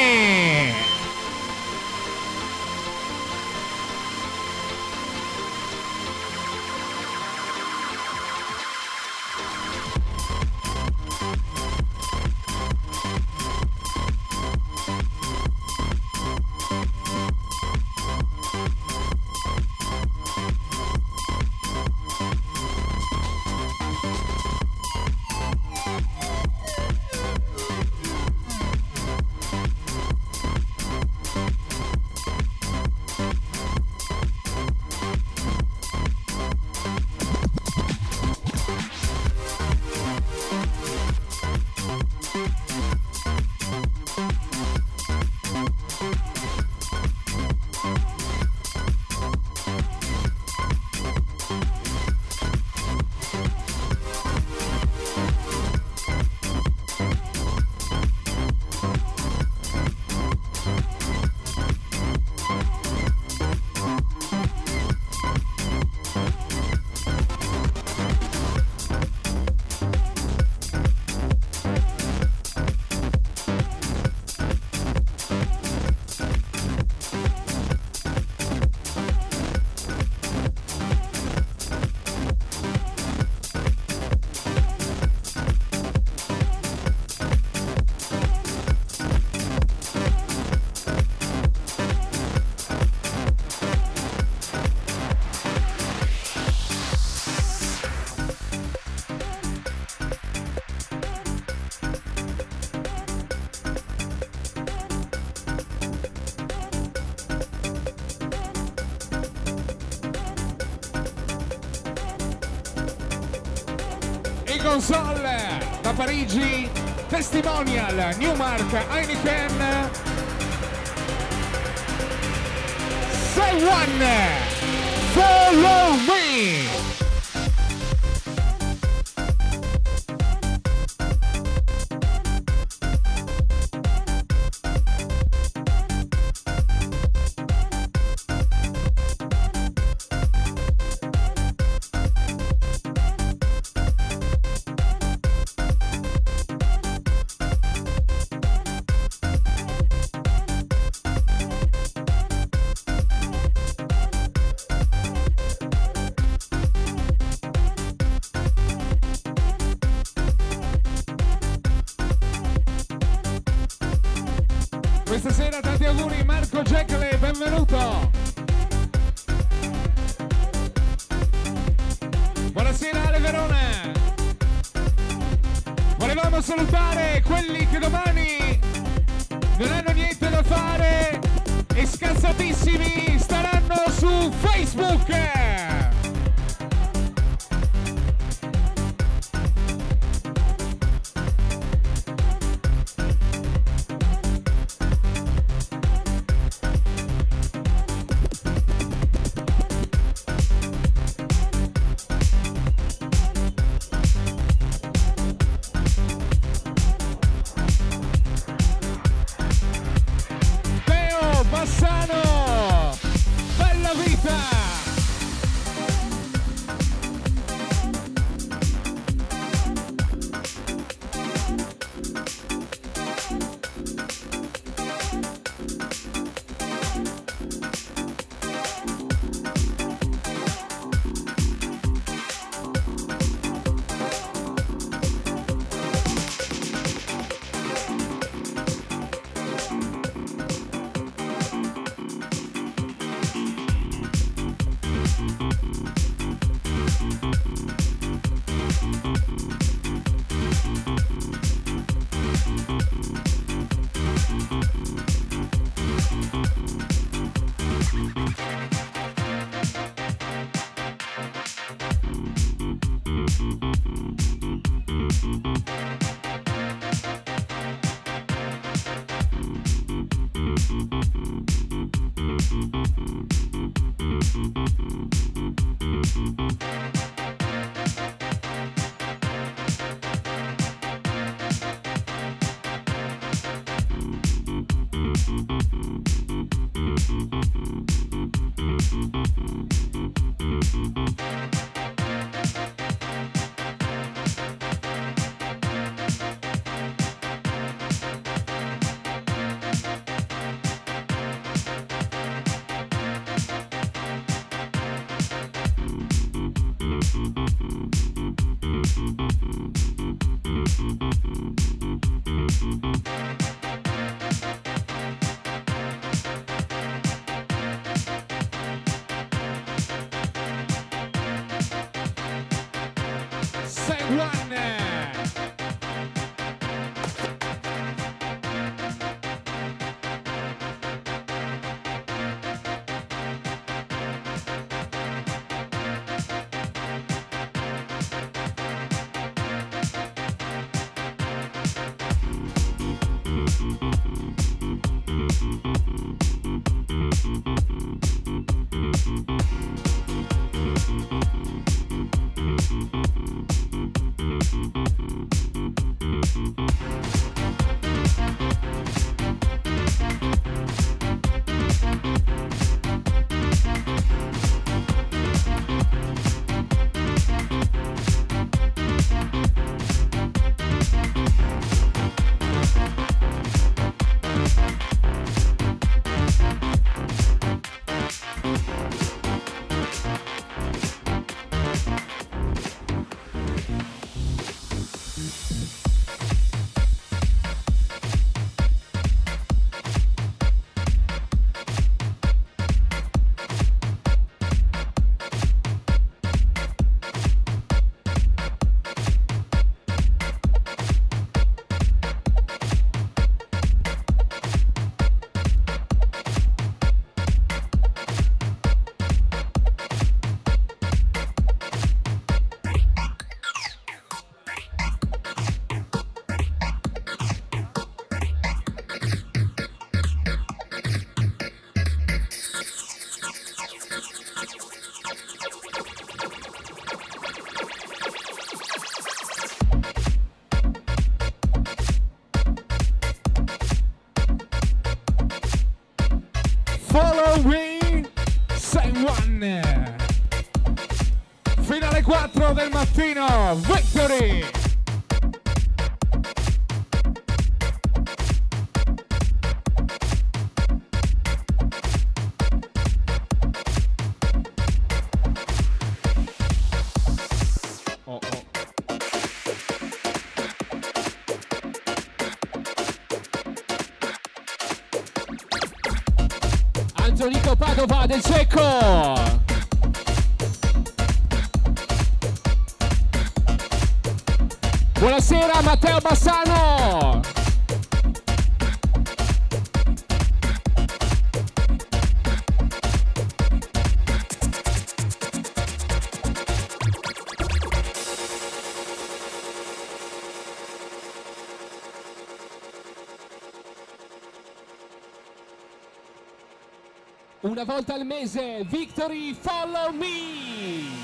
Console da Parigi, Testimonial, Newmark, Heineken, Say One, Follow Me. Questa sera tanti auguri Marco Jekyll, benvenuto. Buonasera Ale Verona. Volevamo salutare quelli che domani non hanno niente da fare e scazzatissimi staranno su Facebook. Bassano, bella vita! Say one. Follow me, say one. Fino alle 4 del mattino, Victory. Antonico Padova del Cecco. Buonasera Matteo Bassano. Una volta al mese, Victory, follow me!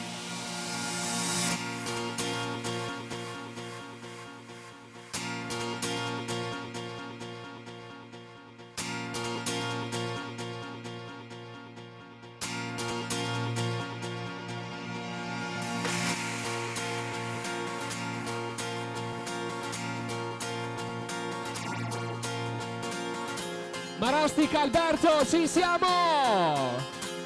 Marostica Alberto, ci siamo!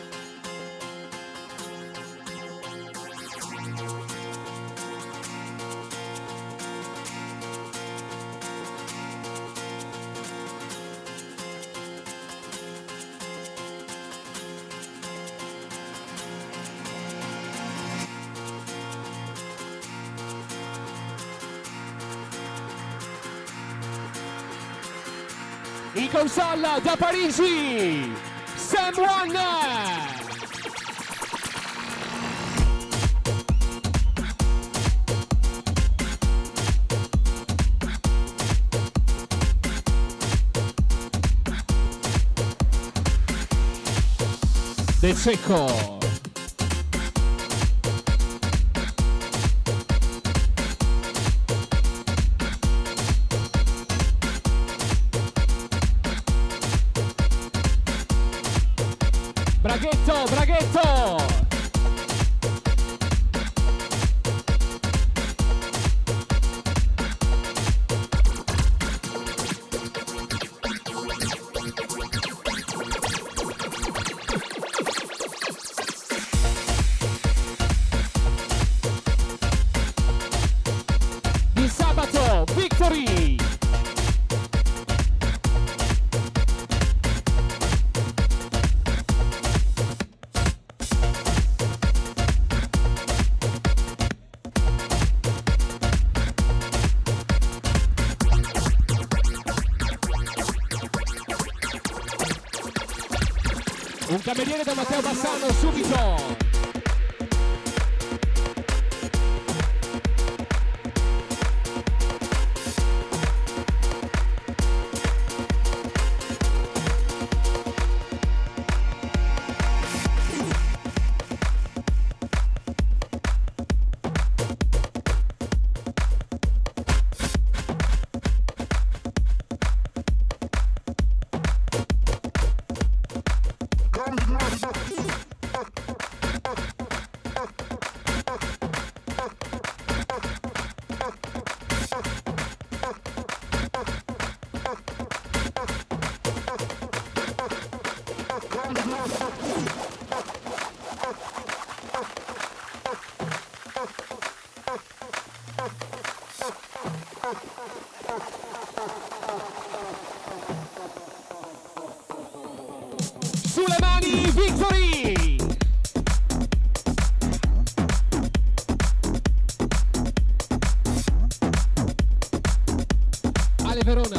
In console da Parigi, Sam One! De Cecco. Braghetto, Braghetto! Di sabato, Victory! Un cameriere da Matteo Bassano subito. Sulle mani, Victory! Ale Verona.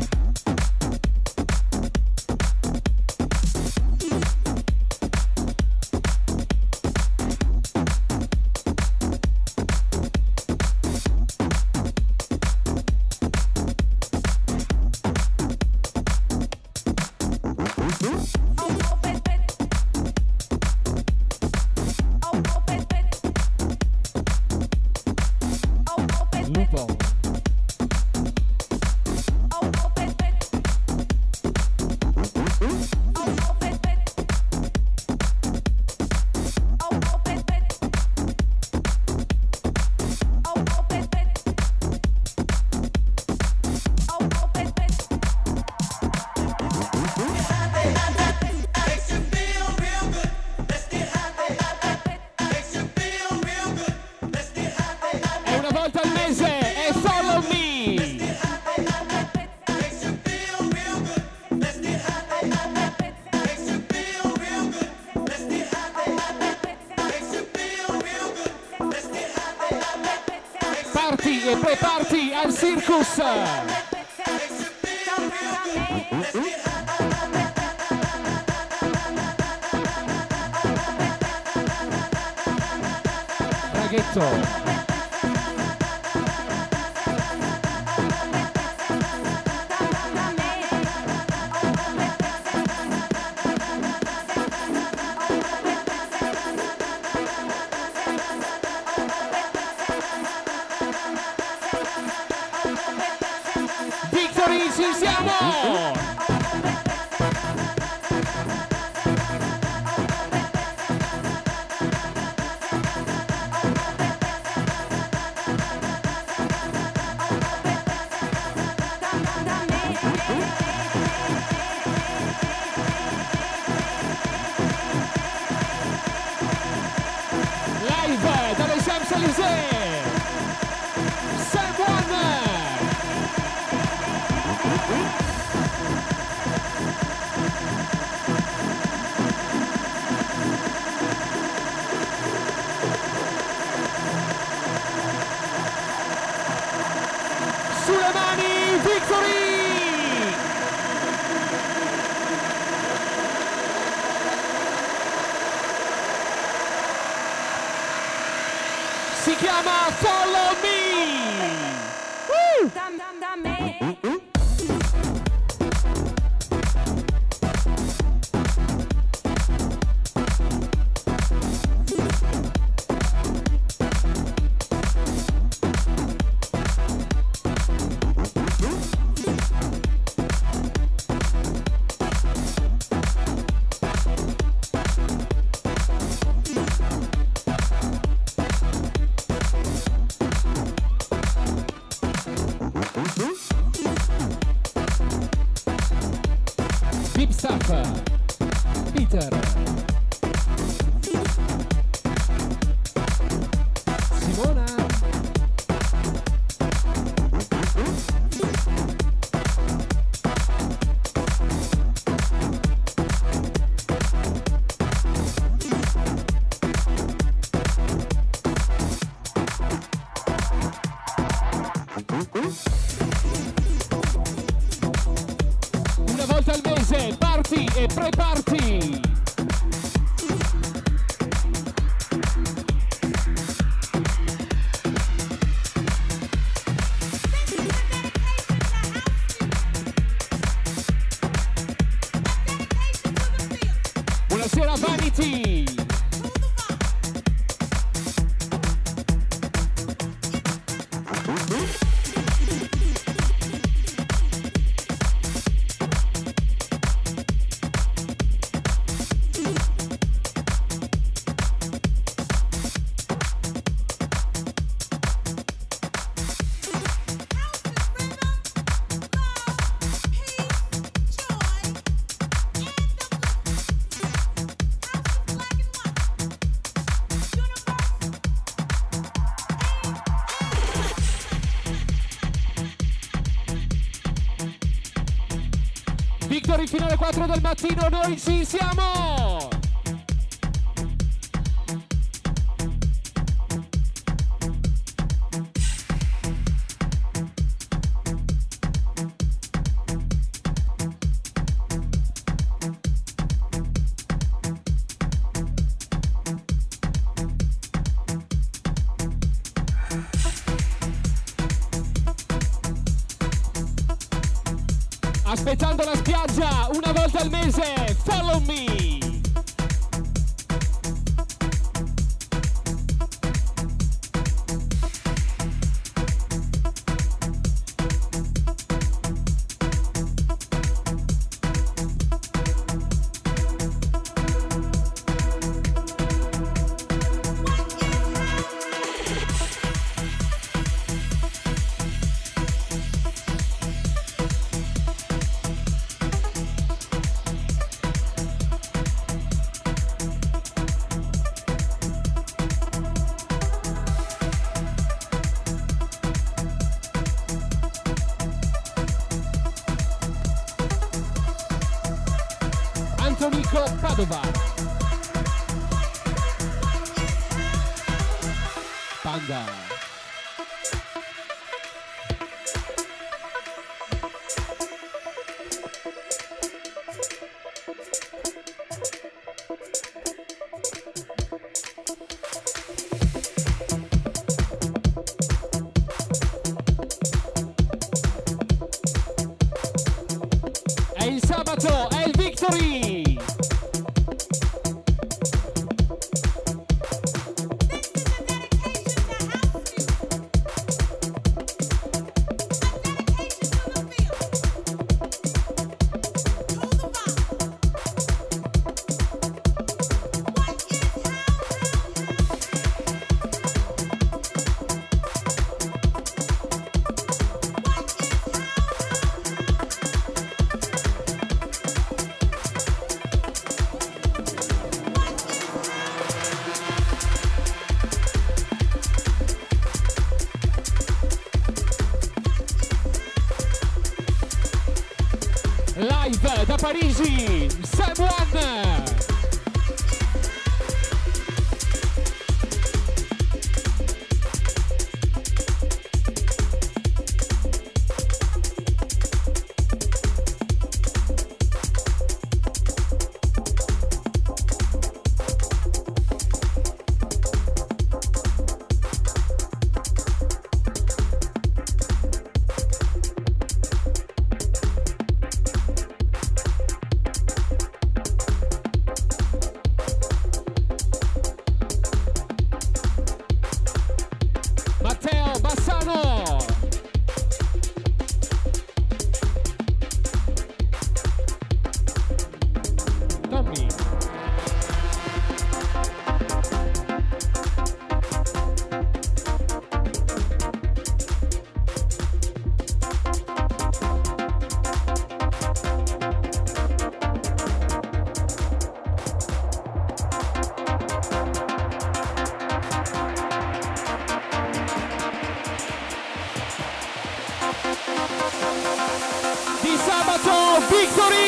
Lupo. È una volta al mese e follow me. Parti e pre-party al circus. Traghetto. Victory, ci siamo! Live dalle Champs-Élysées! Sam One! Sulle mani, Victory! Si chiama Follow Me! Deep Stuff, Peter, Simona, una volta al mese, party e pre-party. sera Vanity. Victory fino alle 4 del mattino, noi ci siamo! Aspettando la spiaggia una volta al mese, follow me! Antonico Padova. Panda. È il sabato, è il Victory! Live da Parigi, Sam One! Matteo Bassano! Tommy! Di sabato Victory!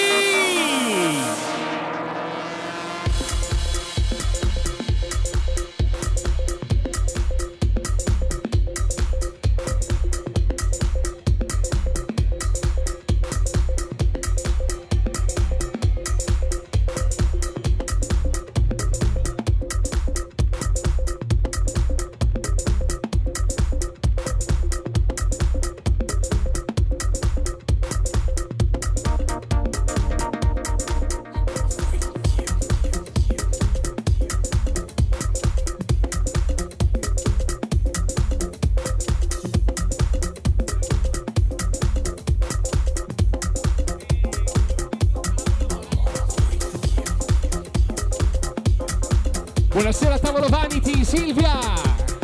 Buonasera tavolo Vanity, Silvia.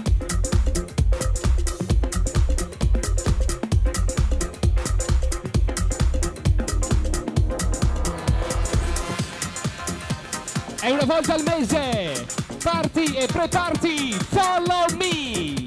È una volta al mese. Party e pre-party, follow me.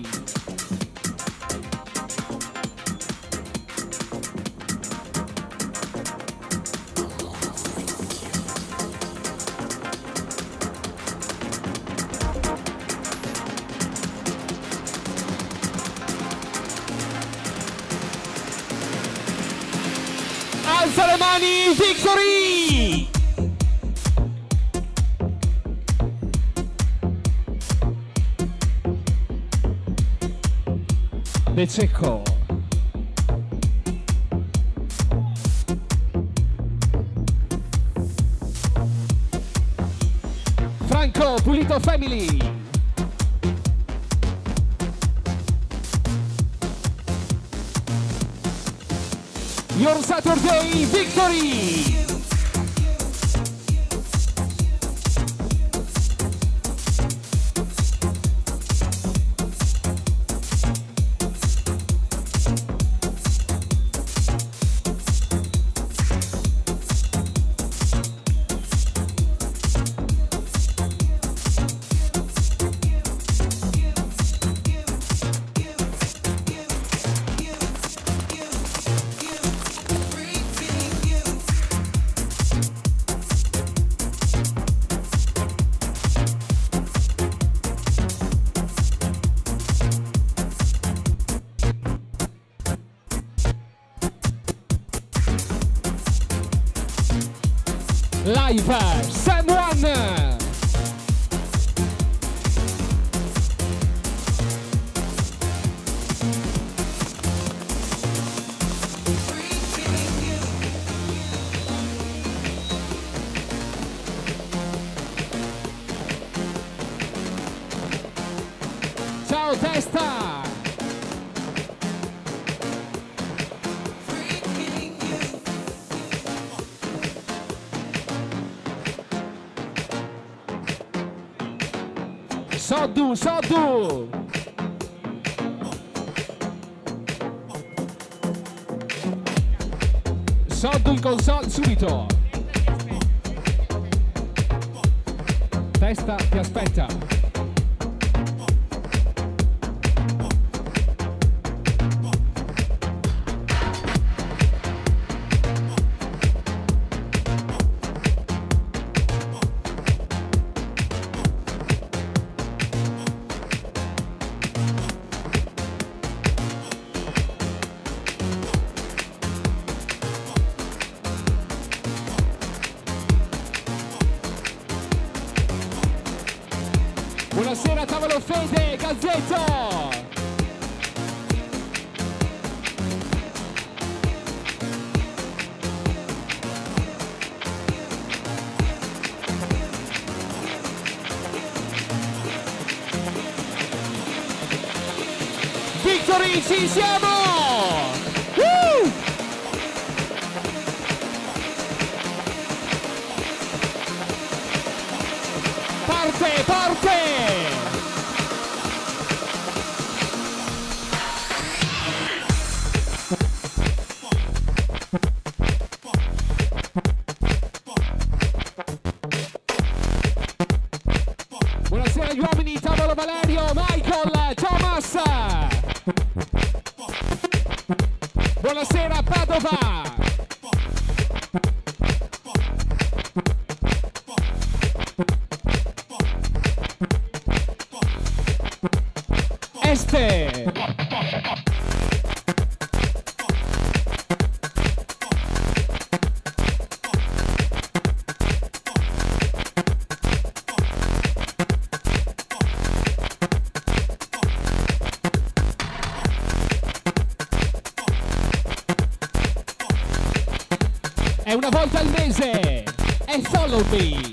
Alza le mani, Victory! De Cecco. Franco Pulito Family. Your Saturday Victory. Live Sam One. Ciao testa. Soddu, Soddu! Soddu in console subito! Testa ti aspetta! Buonasera tavolo Fede, Gazzetto! Victory, ci siamo! Woo! Parte, parte! Buonasera agli uomini, tavolo Valerio, Michael, Thomas! Buonasera Padova! Este! È una volta al mese! E follow me!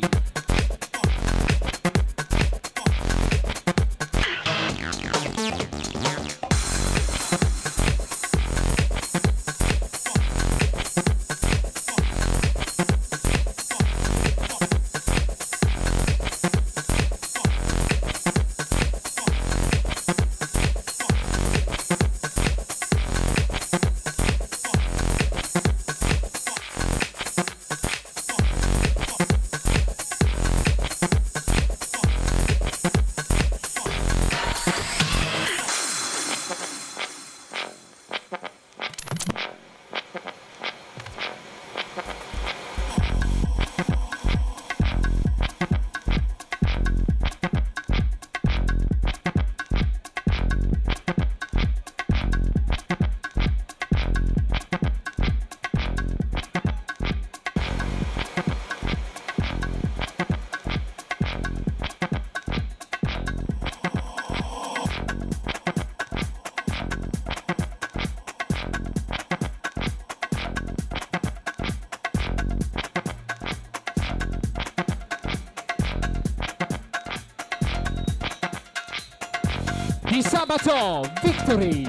di sabato, Victory.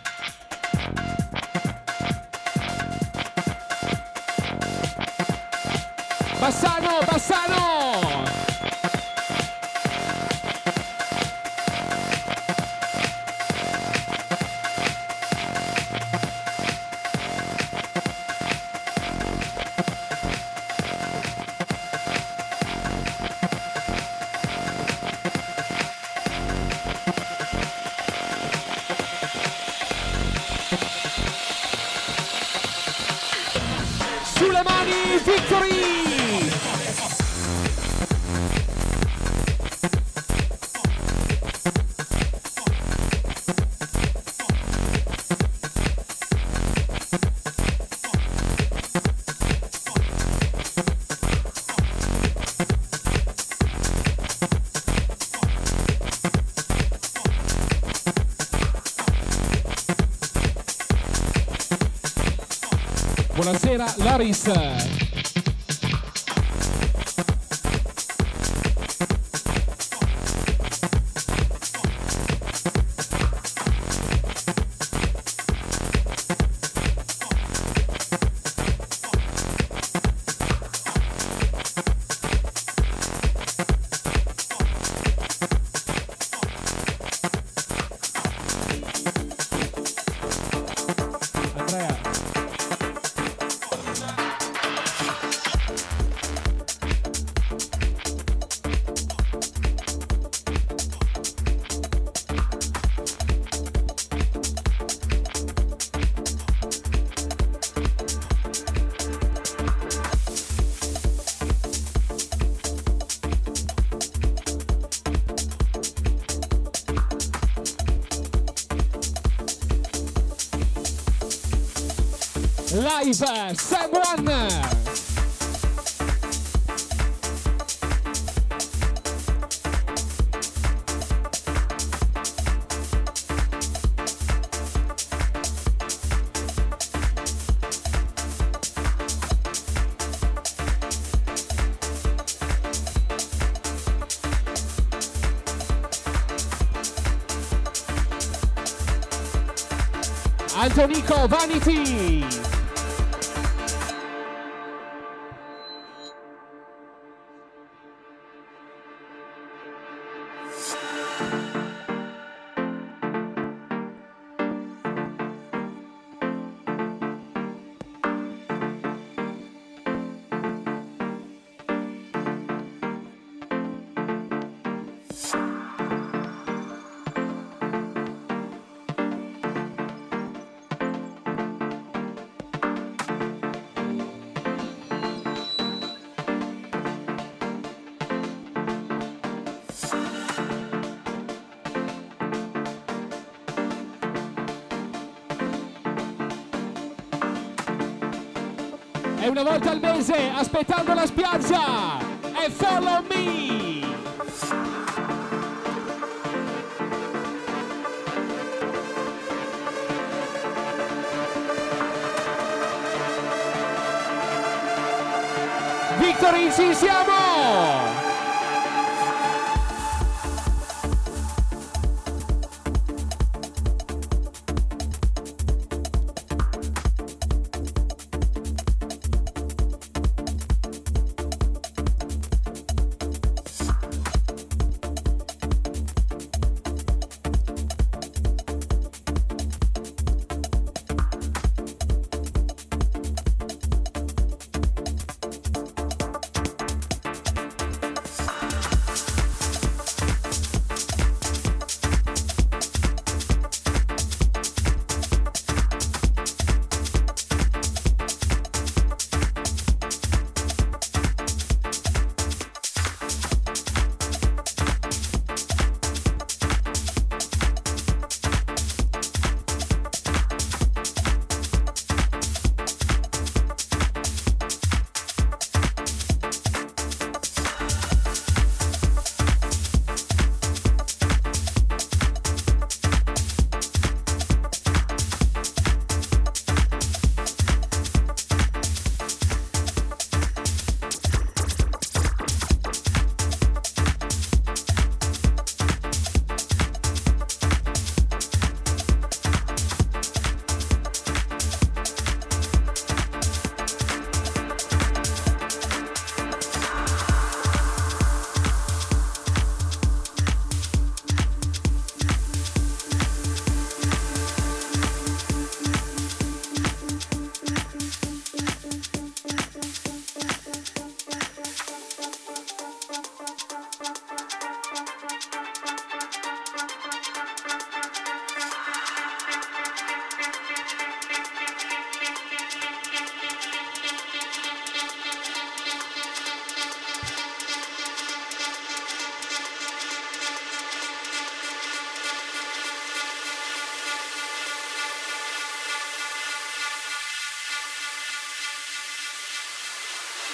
Bassano, Bassano. Sulle mani, Victory! Buonasera Loris. Andrea. Live Sam One. Antonico Vanity. E una volta al mese, aspettando la spiaggia, e Follow Me! Victory, ci siamo!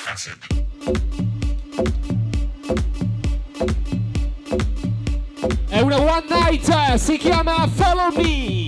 È una one night, si chiama Follow Me.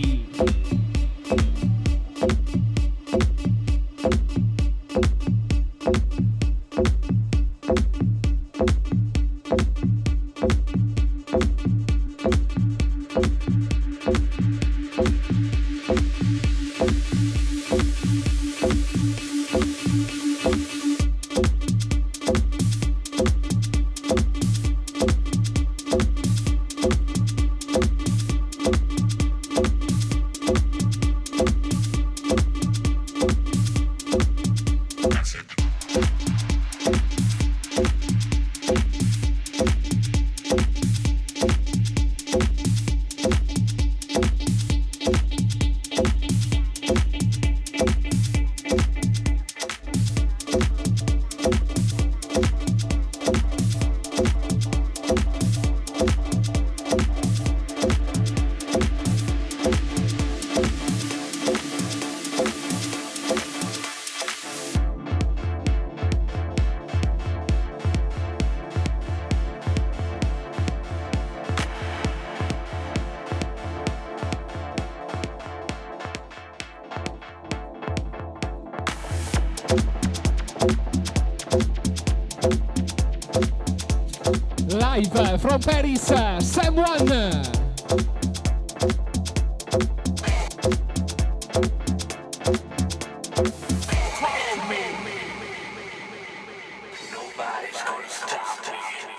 Live from Paris, Sam One. Nobody's gonna stop me.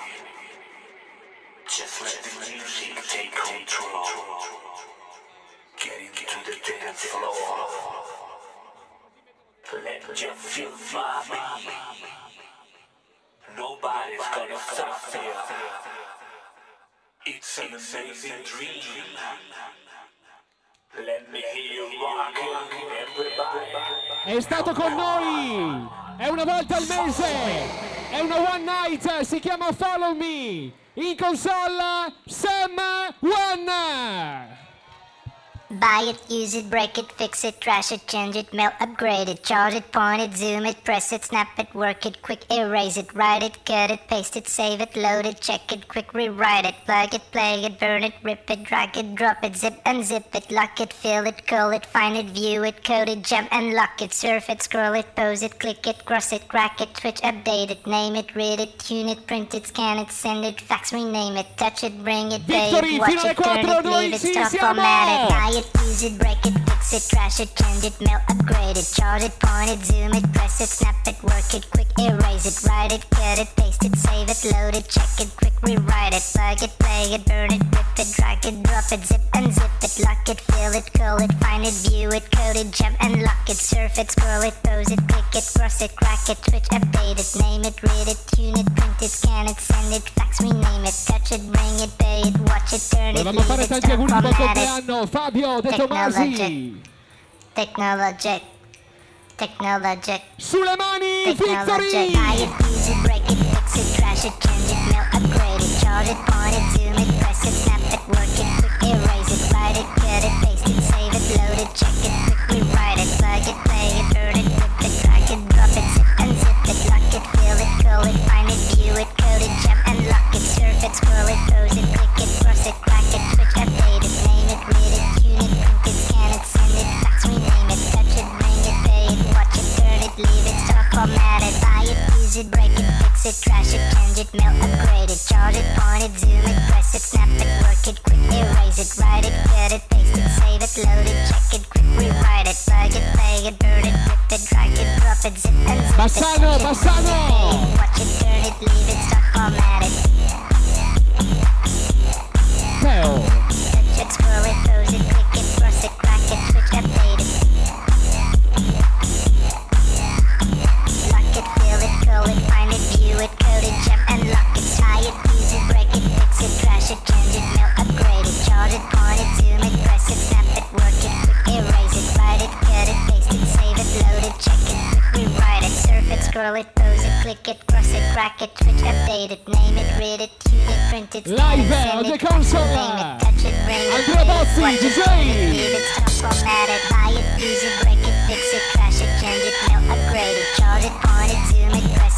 Just let the music take control. Get into the dance floor. Let you feel my beat. Nobody's gonna stop me. It's an amazing dream. Let me hear you rockin', everybody. È stato con noi, è una volta al mese, è una one night, si chiama Follow Me, in console Sam One. Buy it, use it, break it, fix it, trash it, change it, melt, upgrade it, charge it, point it, zoom it, press it, snap it, work it, quick erase it, write it, cut it, paste it, save it, load it, check it, quick rewrite it, plug it, play it, burn it, rip it, drag it, drop it, zip unzip it, lock it, fill it, call it, find it, view it, code it, jump and lock it, surf it, scroll it, pose it, click it, cross it, crack it, switch, update it, name it, read it, tune it, print it, scan it, send it, fax, rename it, touch it, bring it, pay it, watch it, turn it, leave it, stop, format it, buy it, use it, break it, fix it, trash it, change it, melt, upgrade it, charge it, point it, zoom it, press it, snap it, work it, quick erase it, write it, cut it, paste it, save it, load it, check it, quick rewrite it, plug it, play it, burn it, rip it, drag it, drop it, zip unzip it, lock it, fill it, call it, find it, view it, code it, jump and lock it, surf it, scroll it, pose it, click it, cross it, crack it, switch, update it, name it, read it, tune it, print it, scan it, send it, fax, rename it, touch it, bring it, pay it, watch it, turn it, Volevamo leave fare it, tanti stop, auguri di buon format it. compleanno, Fabio De Tomasi. Technologic. Technologic. Sulle mani, Technologic. Victory! Buy it, use it, break it, fix it, trash it, change it, melt, upgrade it, charge it, point it, zoom it, press it, snap it, work it, quick erase it, write it, cut it, paste it, save it, load it, check it, quick rewrite it, plug it, play it, burn it, rip it, drag it, drop it, zip unzip it, lock it, fill it, call it, find it, view it, code it, jump and lock it, surf it, scroll it, pose it, click it, cross it, crack it, switch, update it, name it, read it, tune it, print it, scan it, send it, fax, rename it, touch it, bring it, pay it, watch it, turn it, leave it, stop, format it, buy it, use it, break it, fix it, trash it, change it, melt, upgrade it, charge it, point it, zoom it, press it, snap it, work it, quick erase it, write it, cut it, paste it, save it, load it, check it, quick rewrite it, plug it, play it, burn it, rip it, drag it, drop it, zip and zip Bassano, it, Bassano! watch it, turn it, leave it, stop, format it. Teo. Touch it, scroll it, pose it, click it, cross it, crack it, switch, update it. Lock it, fill it, call it, find it, view it, code it, jump and lock it. Tie it, use it, break it, fix it, trash it, change it, melt, upgrade it, charge it, point it, zoom it, press it, snap it, work it, quick erase it, write it, cut it, paste it, save it, load it, check it, quick rewrite it, surf it, scroll it, pose it, click it, cross it, crack it, switch, update it, name it, read it, tune it, print it, scan Live it, send on it, the fax, console. rename it, touch it, bring it, Andrea Bozzi, watch it, DJ. turn it, leave it, stop, format it, buy it, use it, break it, fix it, trash it, change it, melt, upgrade it, charge it, point it, zoom it, press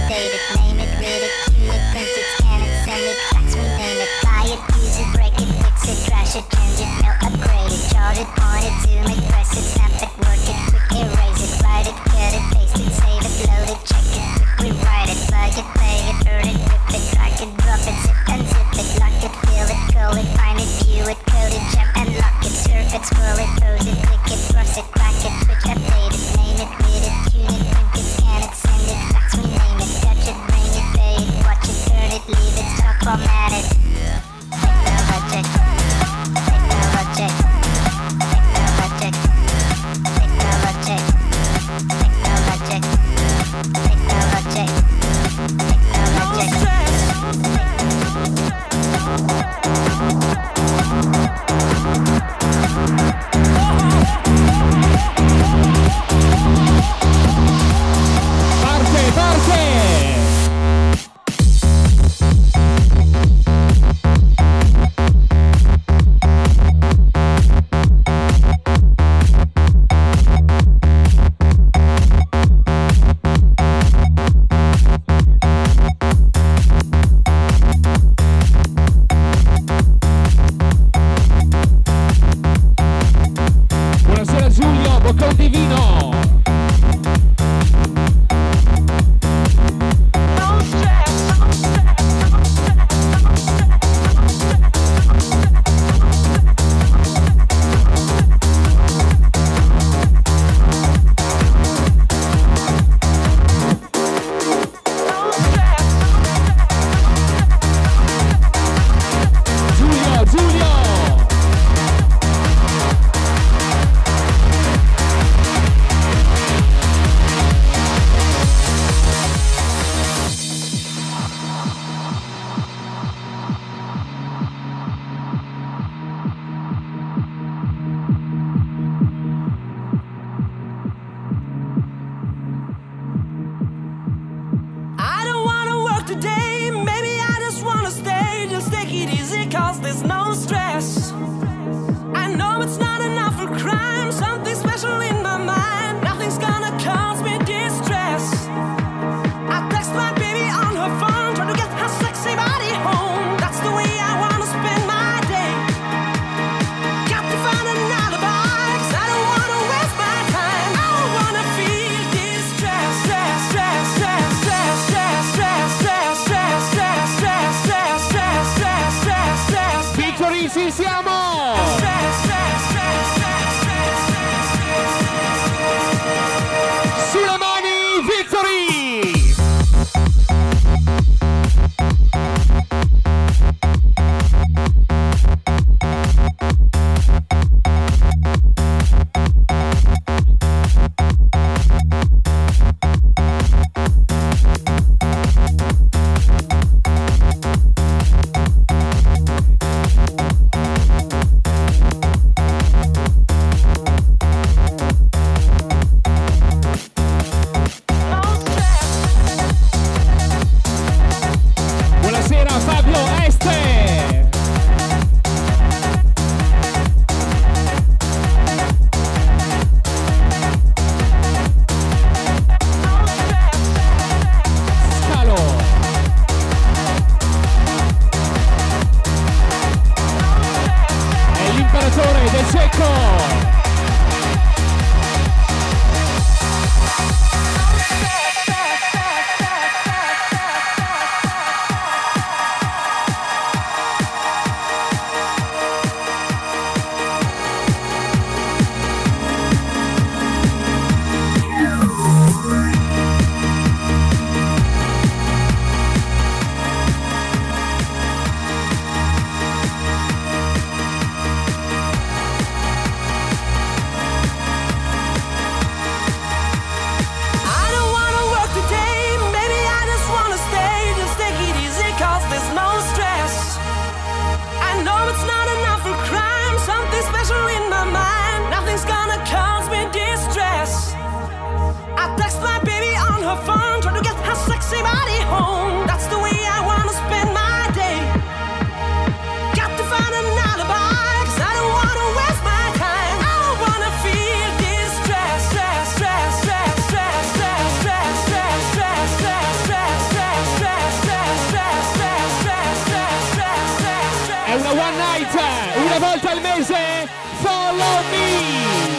update it, name it, read it, tune it, print it, scan it, send it, fax, rename it, buy it, use it, break it, fix it, trash it, change it, mail, upgrade it, charge it, point it, zoom it, press it, snap it, work it, quick erase it, write it, cut it, paste it, save it, load it, check it, quick rewrite it, plug it, play it, burn it, rip it, drag it, drop it, zip and zip it, lock it, fill it, call it, find it, view it, code it, jump and lock it, surf it, scroll it, pose it, click it, cross it, crack it, switch, update it, name it, read it, tune it, print it, scan it, send it, fax, rename it, touch it, bring it, pay it, watch it, turn it, leave it, stock, format it. Technologic, technologic, technologic, technologic, technologic, technologic, Parte, parte! Buonasera Giulio, boccone di vino! Giulio, Giulio! I don't wanna work today, maybe I just wanna stay. Just take it easy, cause there's no stress. I know it's not enough for crime, something special in my mind. Nothing's gonna cause me distress. I text my baby on her phone, trying to get her sexy body home. That's the way I wanna spend my day. Got to find an alibi, 'cause I don't wanna waste my time. I don't wanna feel distress, stress, stress, stress, stress, stress, stress, stress, stress, stress, stress, stress, stress, stress, stress, stress. Victory, ci siamo! Sulle mani, Victory! Buonasera Fabio Este! Scalo! È l'imperatore del cecco! una one night, una volta al mese, follow me.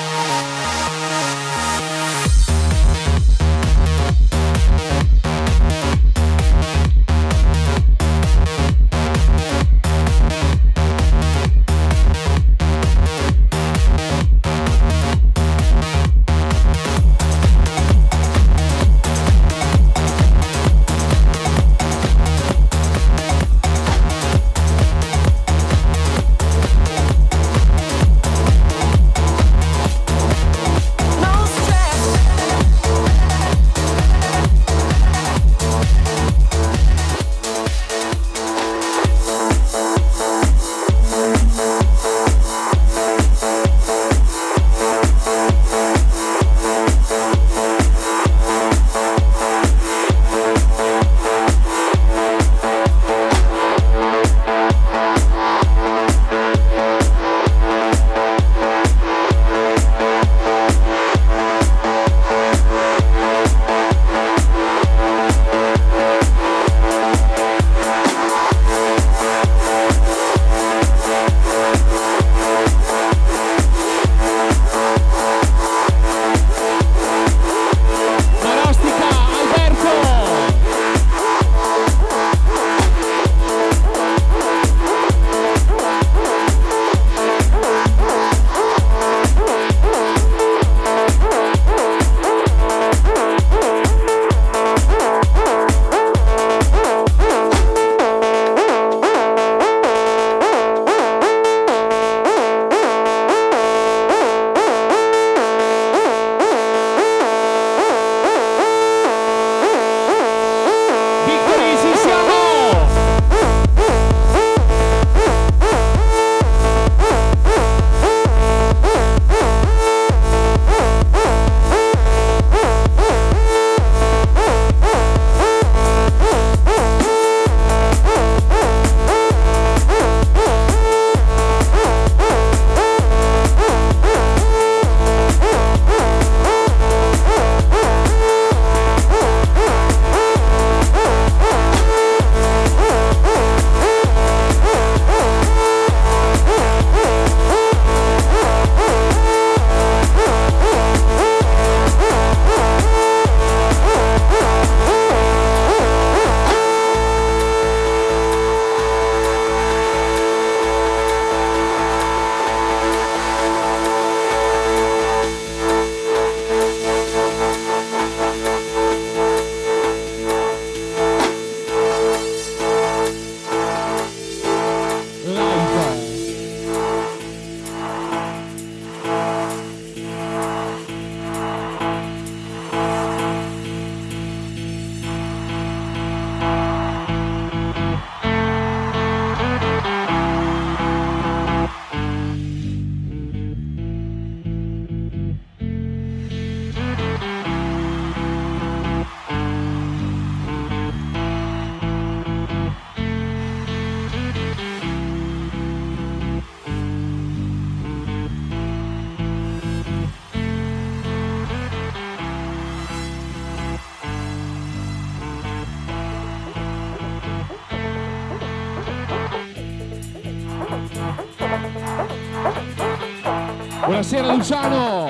Buonasera Luciano.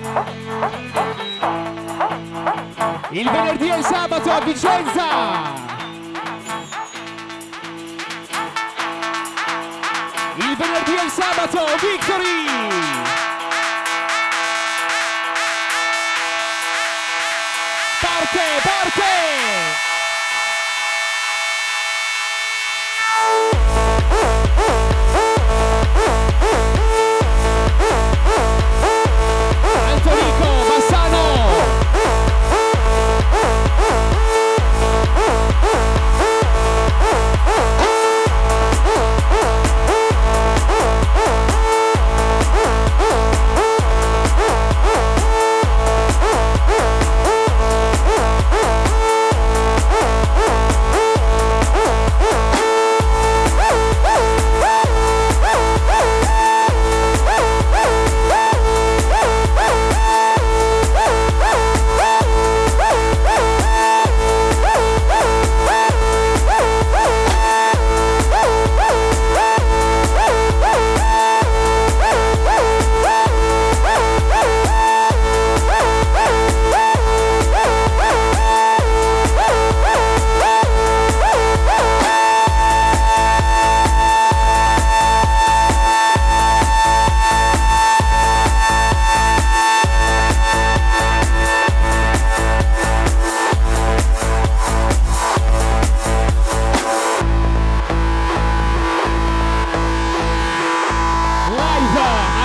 Il venerdì e il sabato a Vicenza. Il venerdì e il sabato Victory. Parte.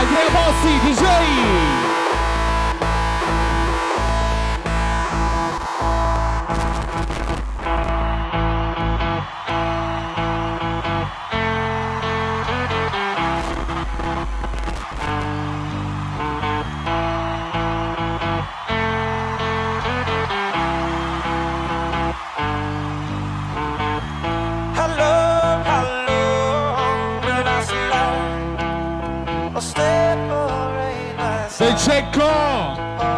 Andrea Bossi, DJ. Sei Cecco!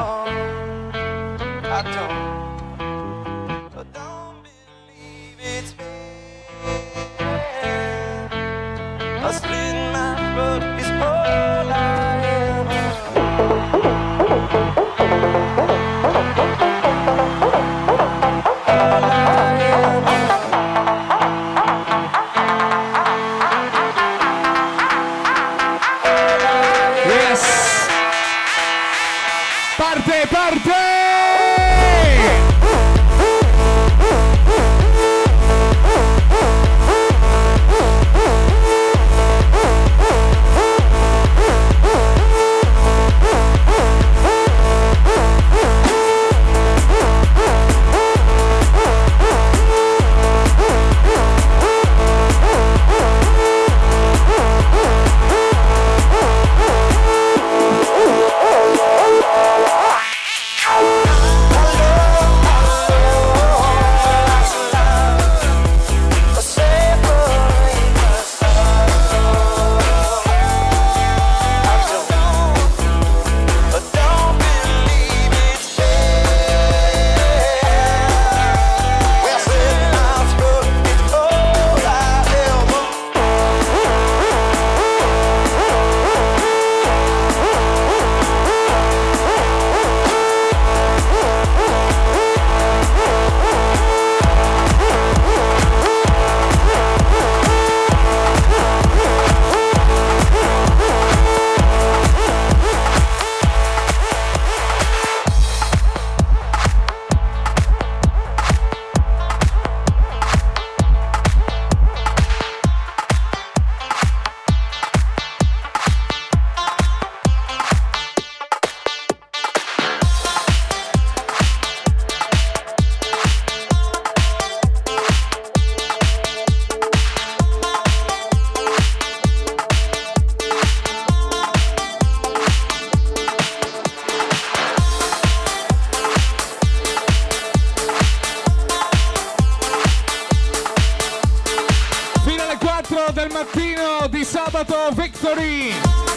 Del mattino di sabato Victory.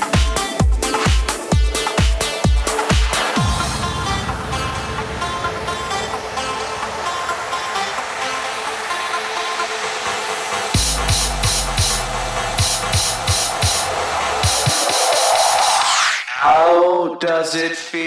How does it feel?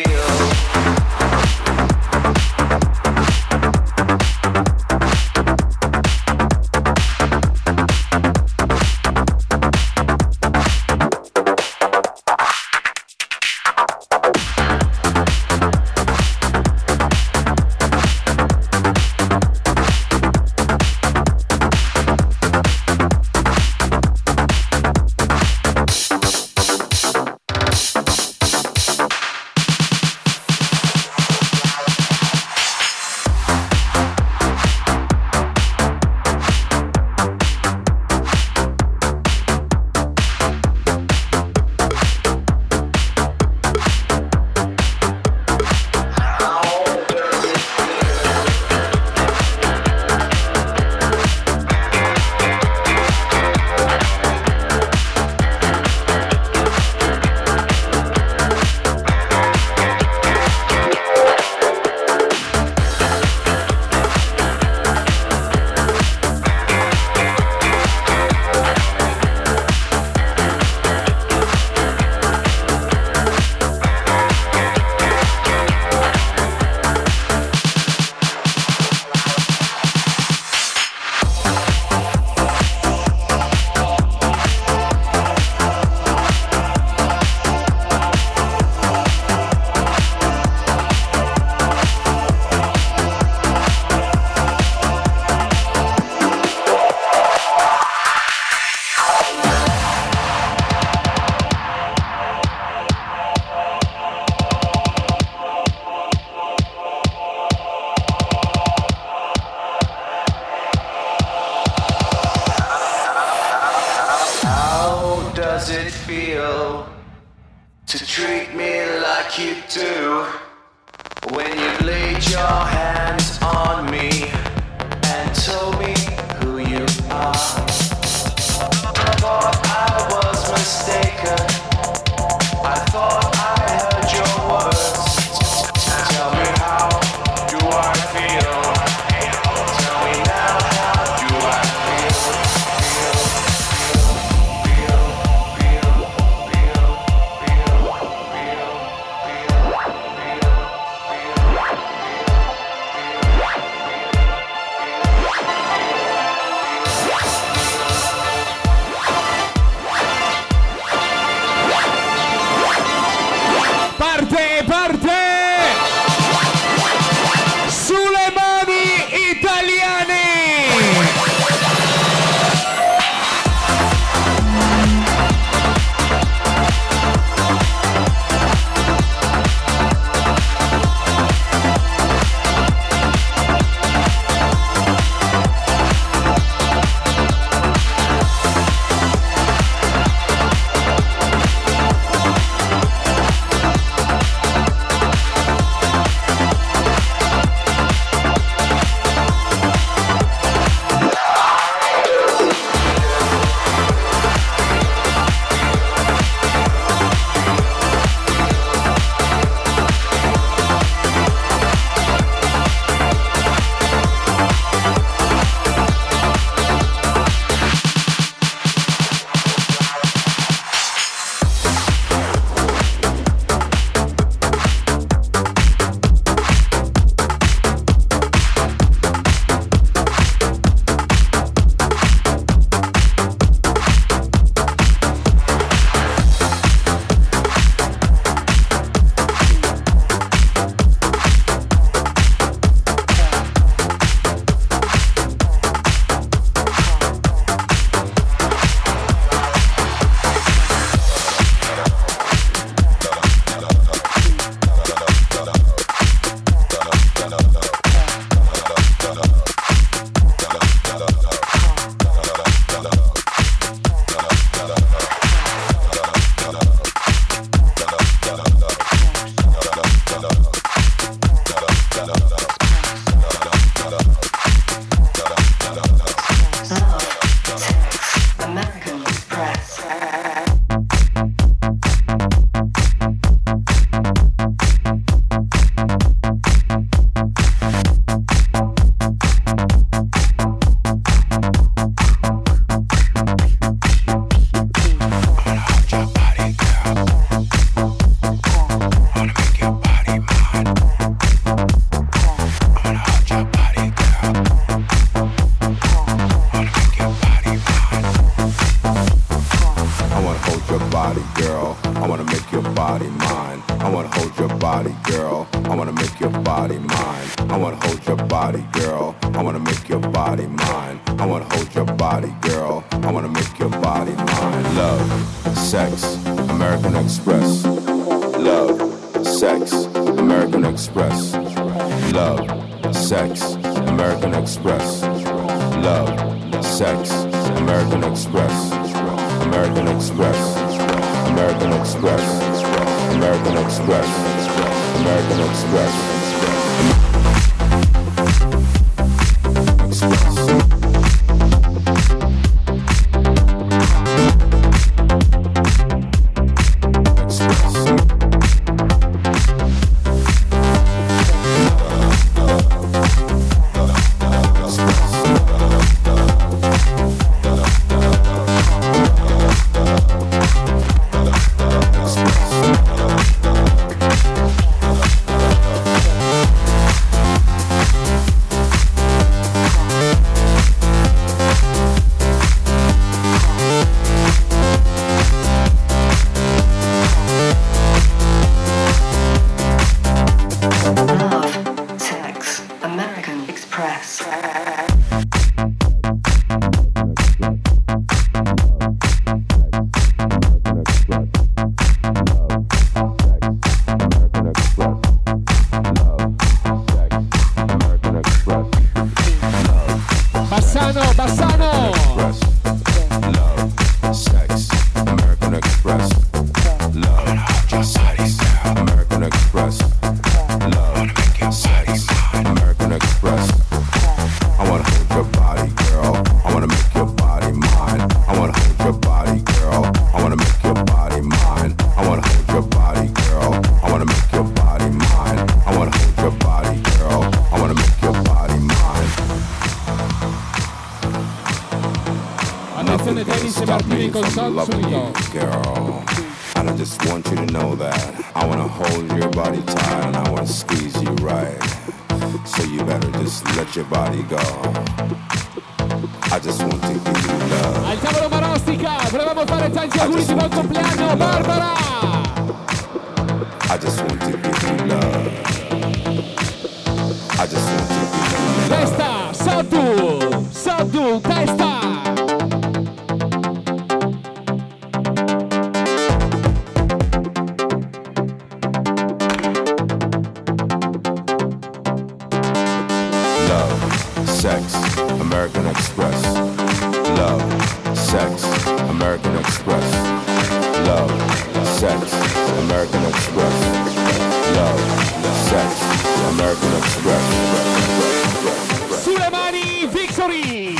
does it feel to treat me like you do? When you laid your hands on me and told me who you are. I thought I was mistaken. I thought I heard your words. Tell me, how do I feel? Tell me now, how do I Parte! Sulle mani italiane! loving you, girl. And I just want you to know that I wanna hold your body tight and I wanna squeeze you right. So you better just let your body go. I just want to give you love. Al tavolo Marostica, volevamo fare tanti auguri di buon compleanno, Barbara! I just want to give you love. I just want to give you love. Testa, Soddu, testa! Sex, American Express. Love, sex, American Express. Love, sex, American Express. Love, sex, American Express. Sulle mani, Victory!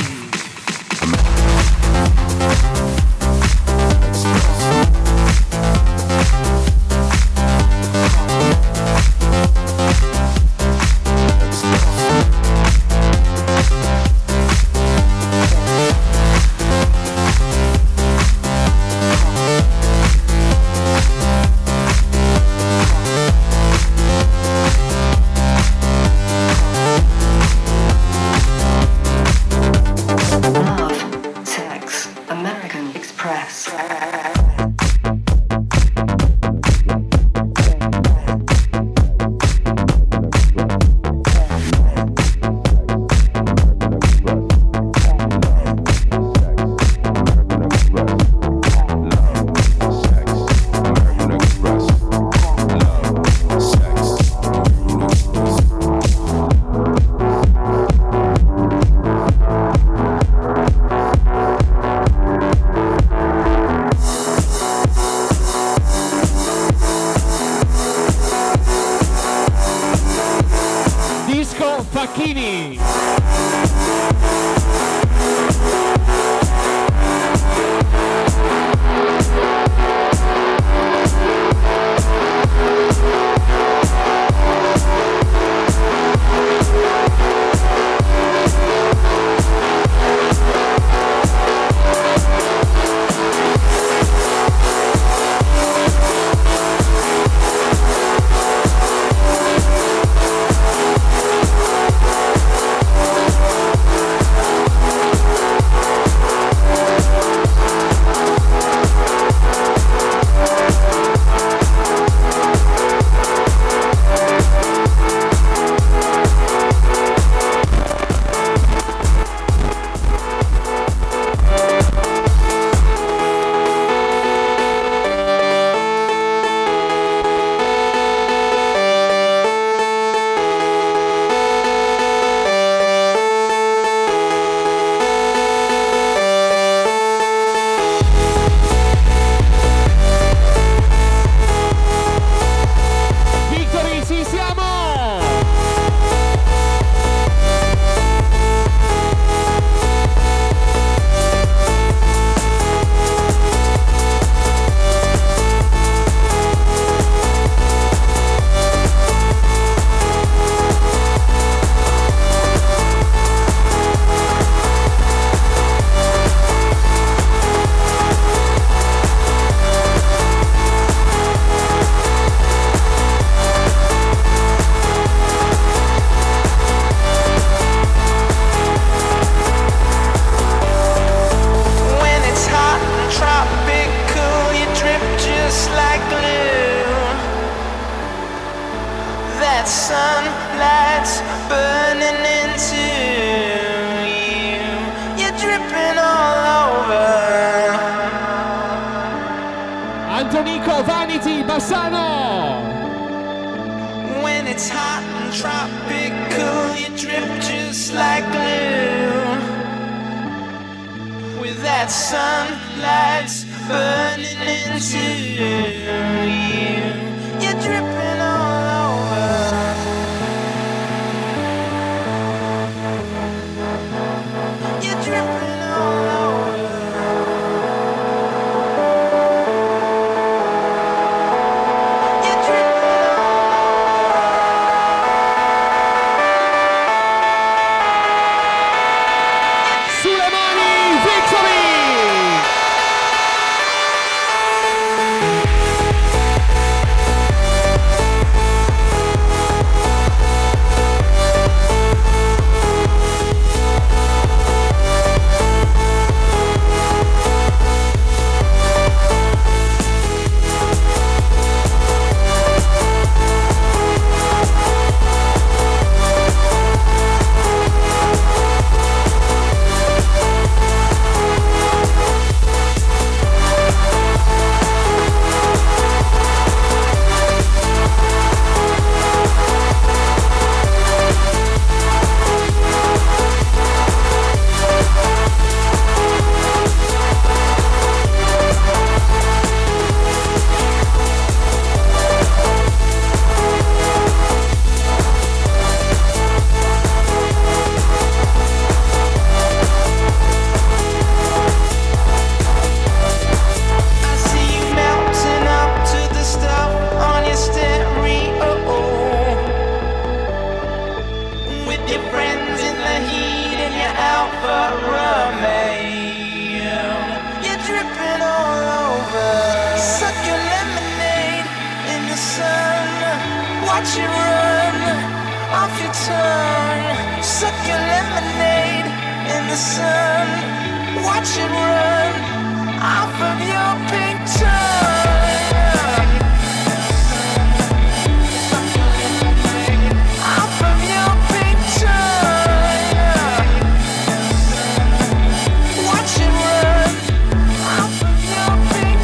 Facchini. sunlight's burning into you. You're dripping all over. Antonico, Vanity, Bassano. When it's hot and tropical, you drip just like glue. With that sunlight's burning into you. You're dripping all over. You're dripping all over. You're dripping Sulle mani, Victory! watch it run off your tongue. Suck your lemonade in the sun. Watch it run off of your pink tongue. Off of your pink tongue. Watch it run off of your pink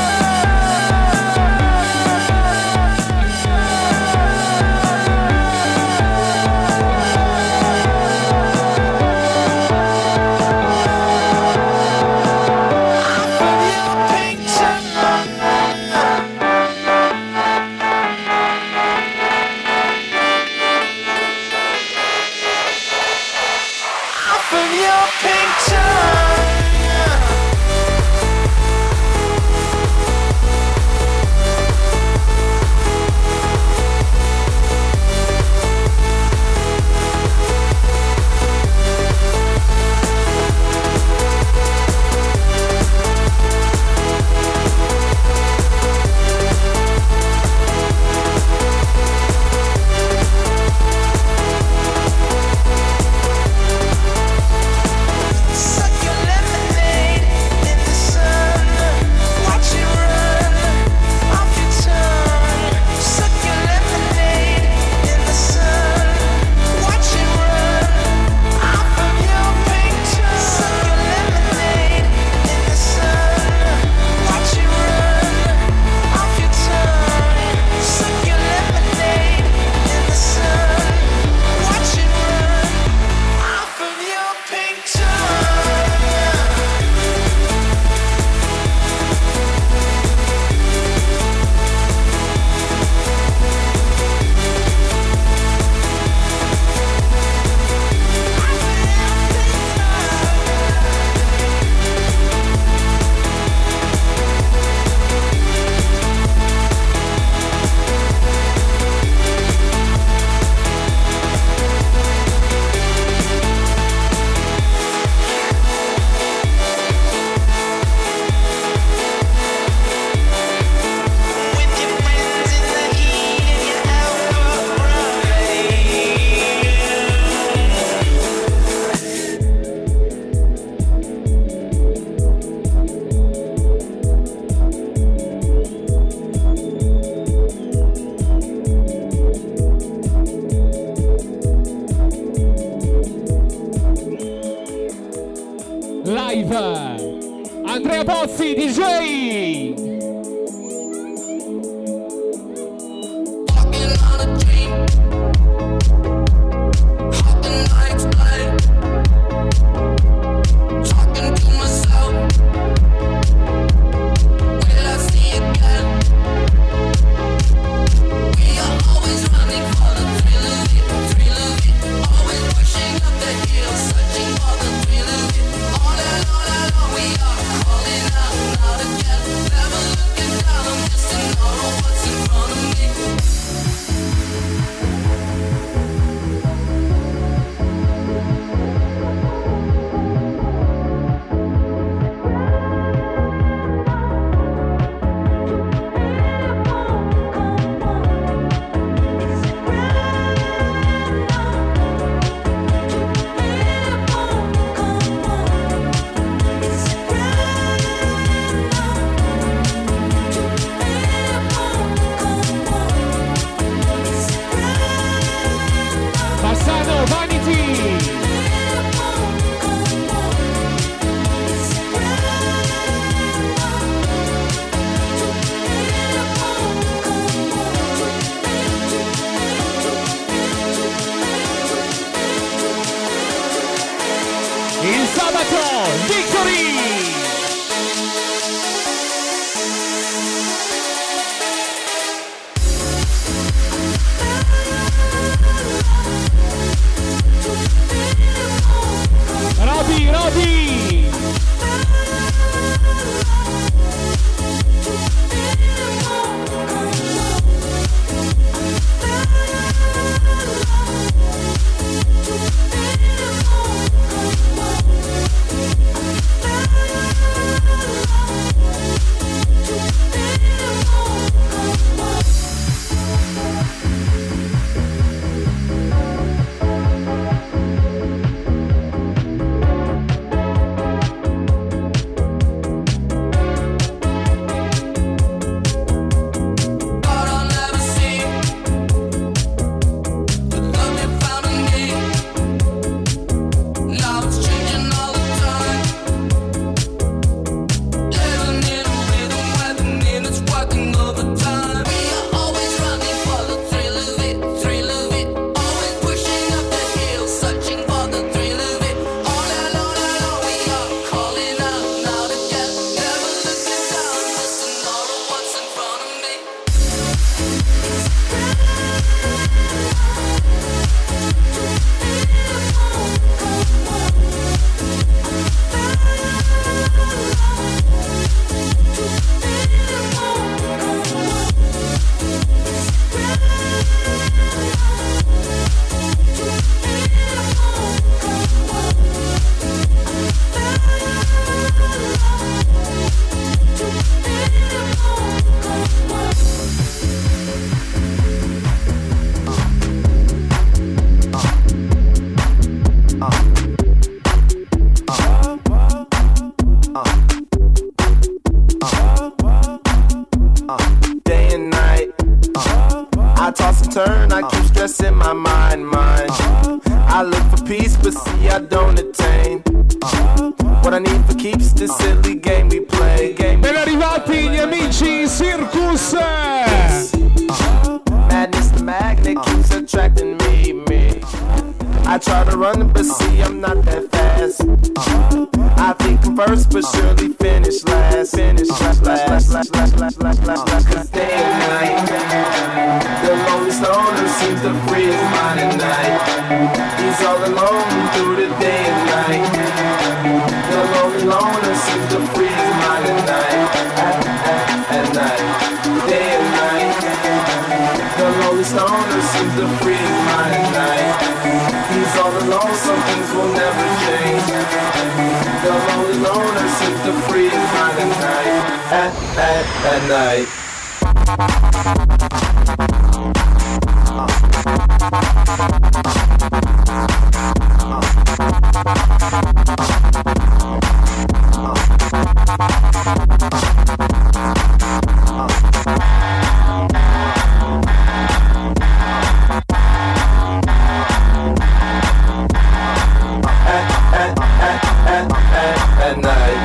Andrea Pozzi, DJ! Searching for the thrill of it. All alone, we are calling out again. turn, I keep stressing my mind. I look for peace, but see I don't attain. What I need for keeps this silly game we play. Ben arrivati gli amici Circus. Madness, the magnet keeps attracting me. I try to run, but see I'm not that fast. I think I'm first, but surely finish last. Cause day and night, the lonely stoner seems to free his mind at night. He's all alone through the day and night. The lonely loner seems to free his mind at night. At night, day and night. The lonely stoner seems to free his mind at night. He's all alone, some things will never change. The lonely loner seems to free his mind at night. At night. At night.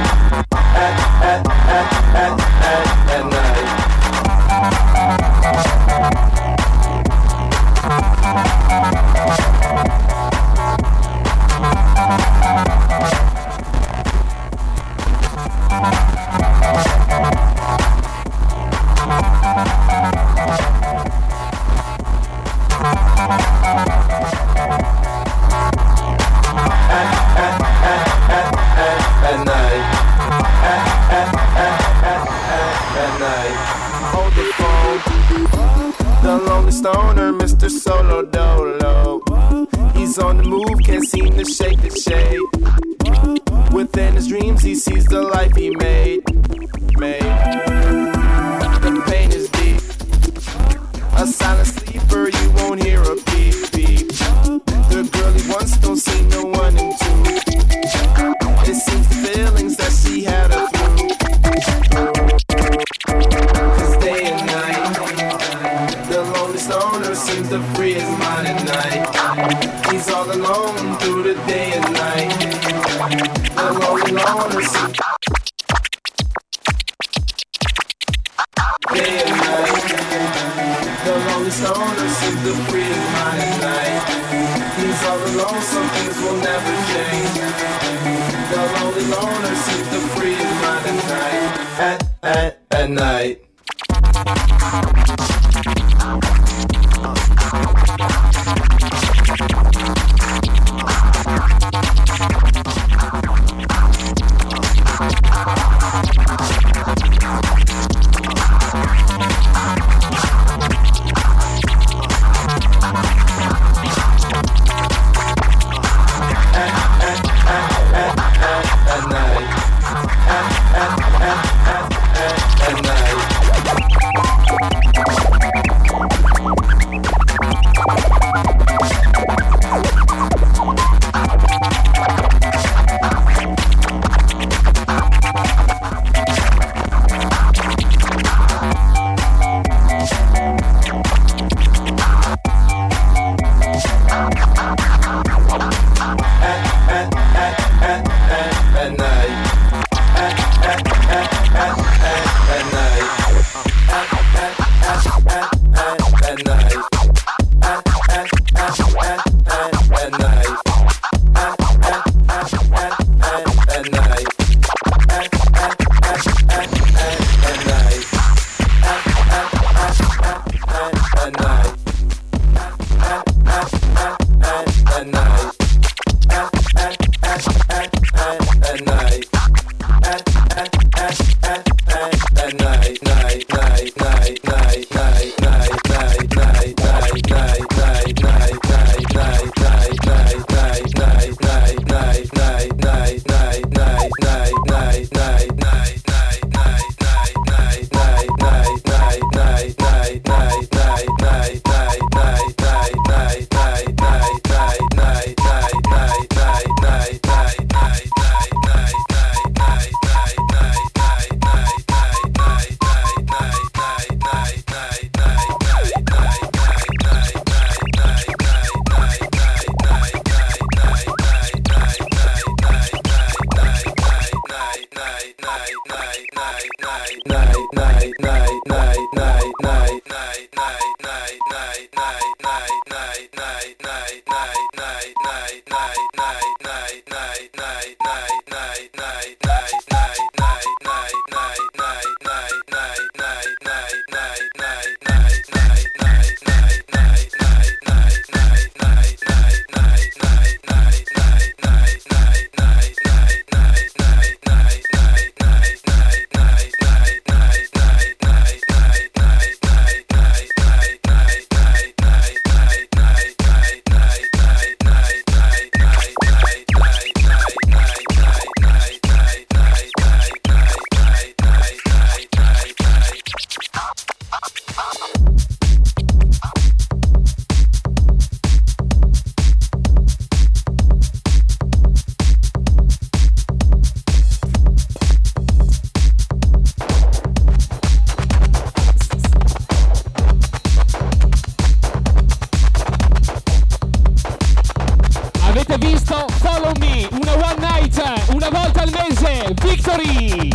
Hold the phone. The lonely stoner, Mr. Solo Dolo. He's on the move, can't seem to shake the shade. Within his dreams, he sees the life he made. The pain is deep. A silent sleeper, you won't hear a beep beep. The girl he once don't see no one into. It seems the feelings that she had her through. Cause day and night, the lonely stoner seems to free his mind at night. He's all alone through the day and night. The lonely loner seems day and night. The lonely stoner seems to free his mind at night. He's all alone, some things will never change. The lonely loner seems to free his mind at night. At night. At night. Avete visto? Follow me, una one night, una volta al mese, Victory!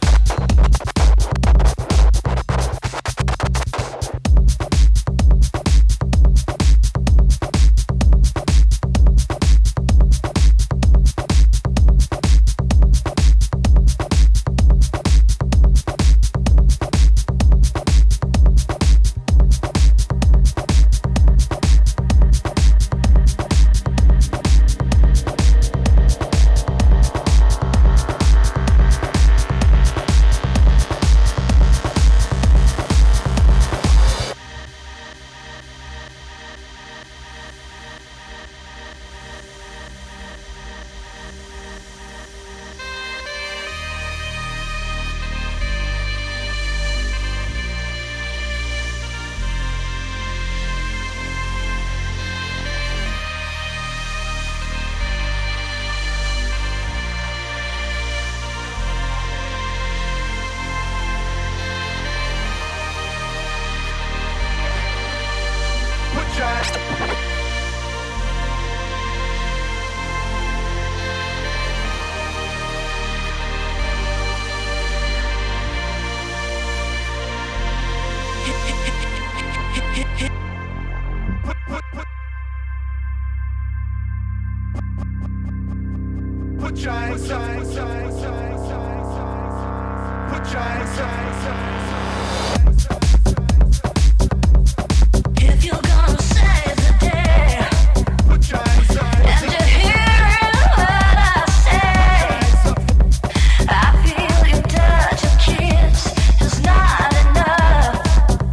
If you're gonna save the day, and you're hearing what I say, I feel your touch, your kiss is not enough.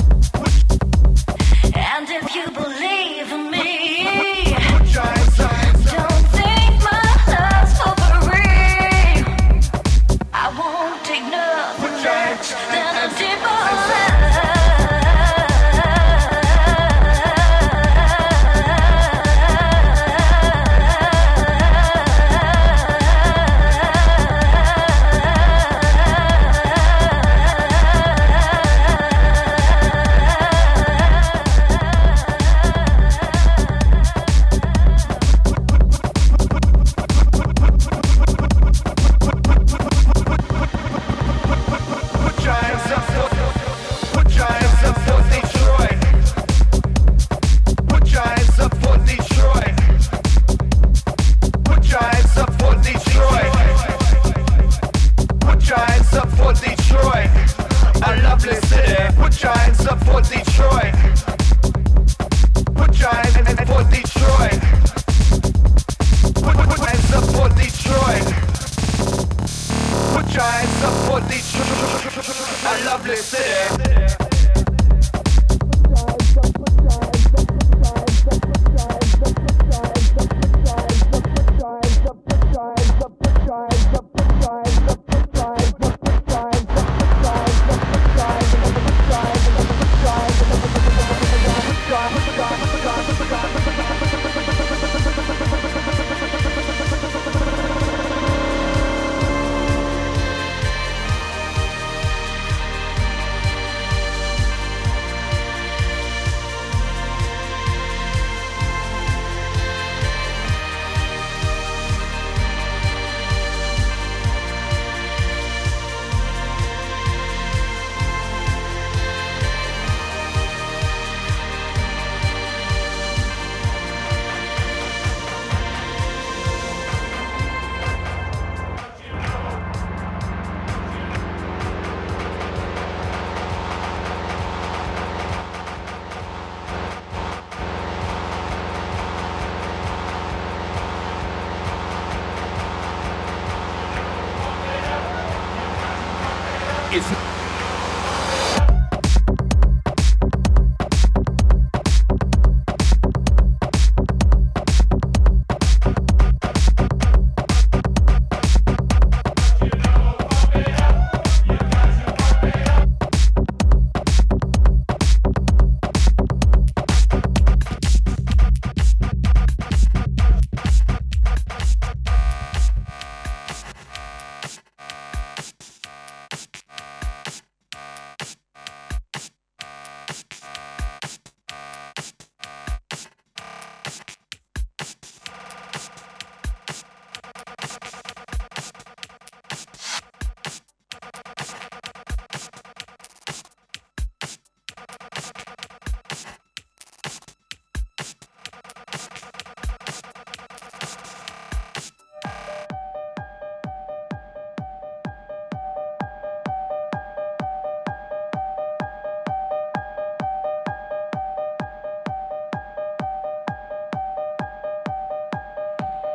And if you believe in me, don't think my love's for free. I won't take nothing less than a deeper love.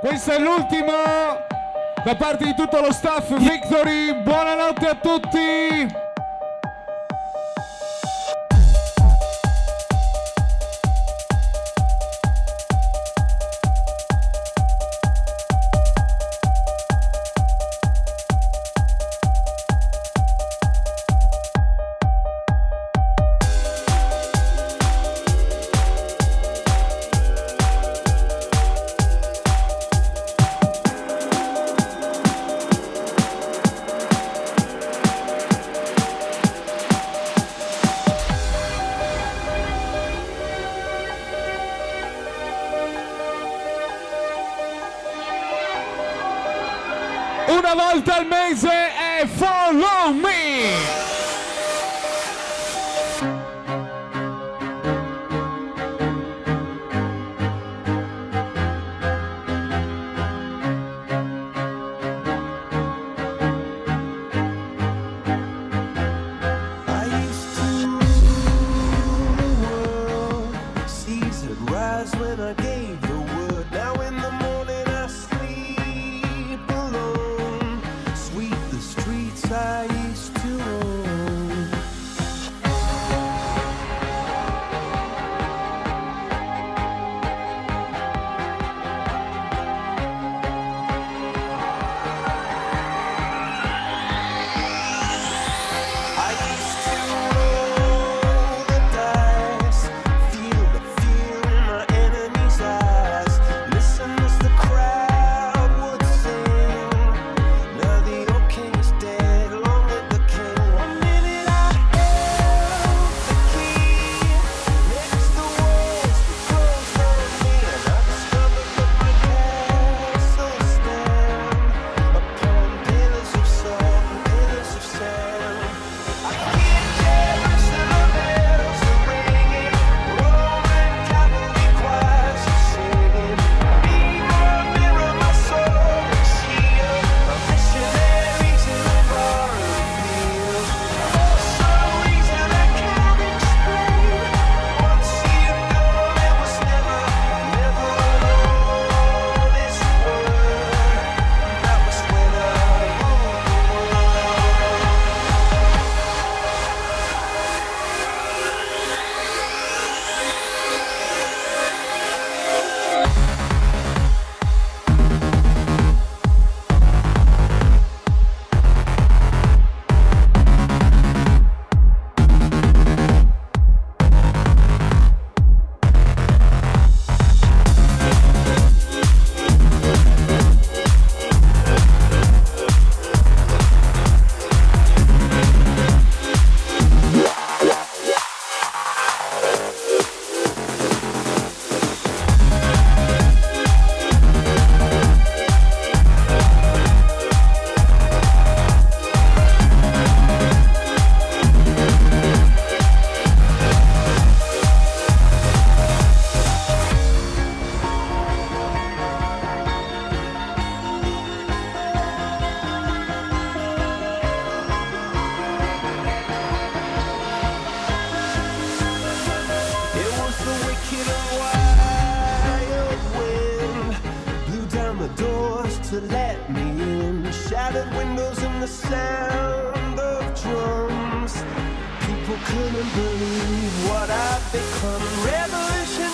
Questo è l'ultimo da parte di tutto lo staff Victory. Buonanotte a tutti. Una volta al mese è Follow Me. To let me in, shattered windows and the sound of drums. People couldn't believe what I've become. Revolution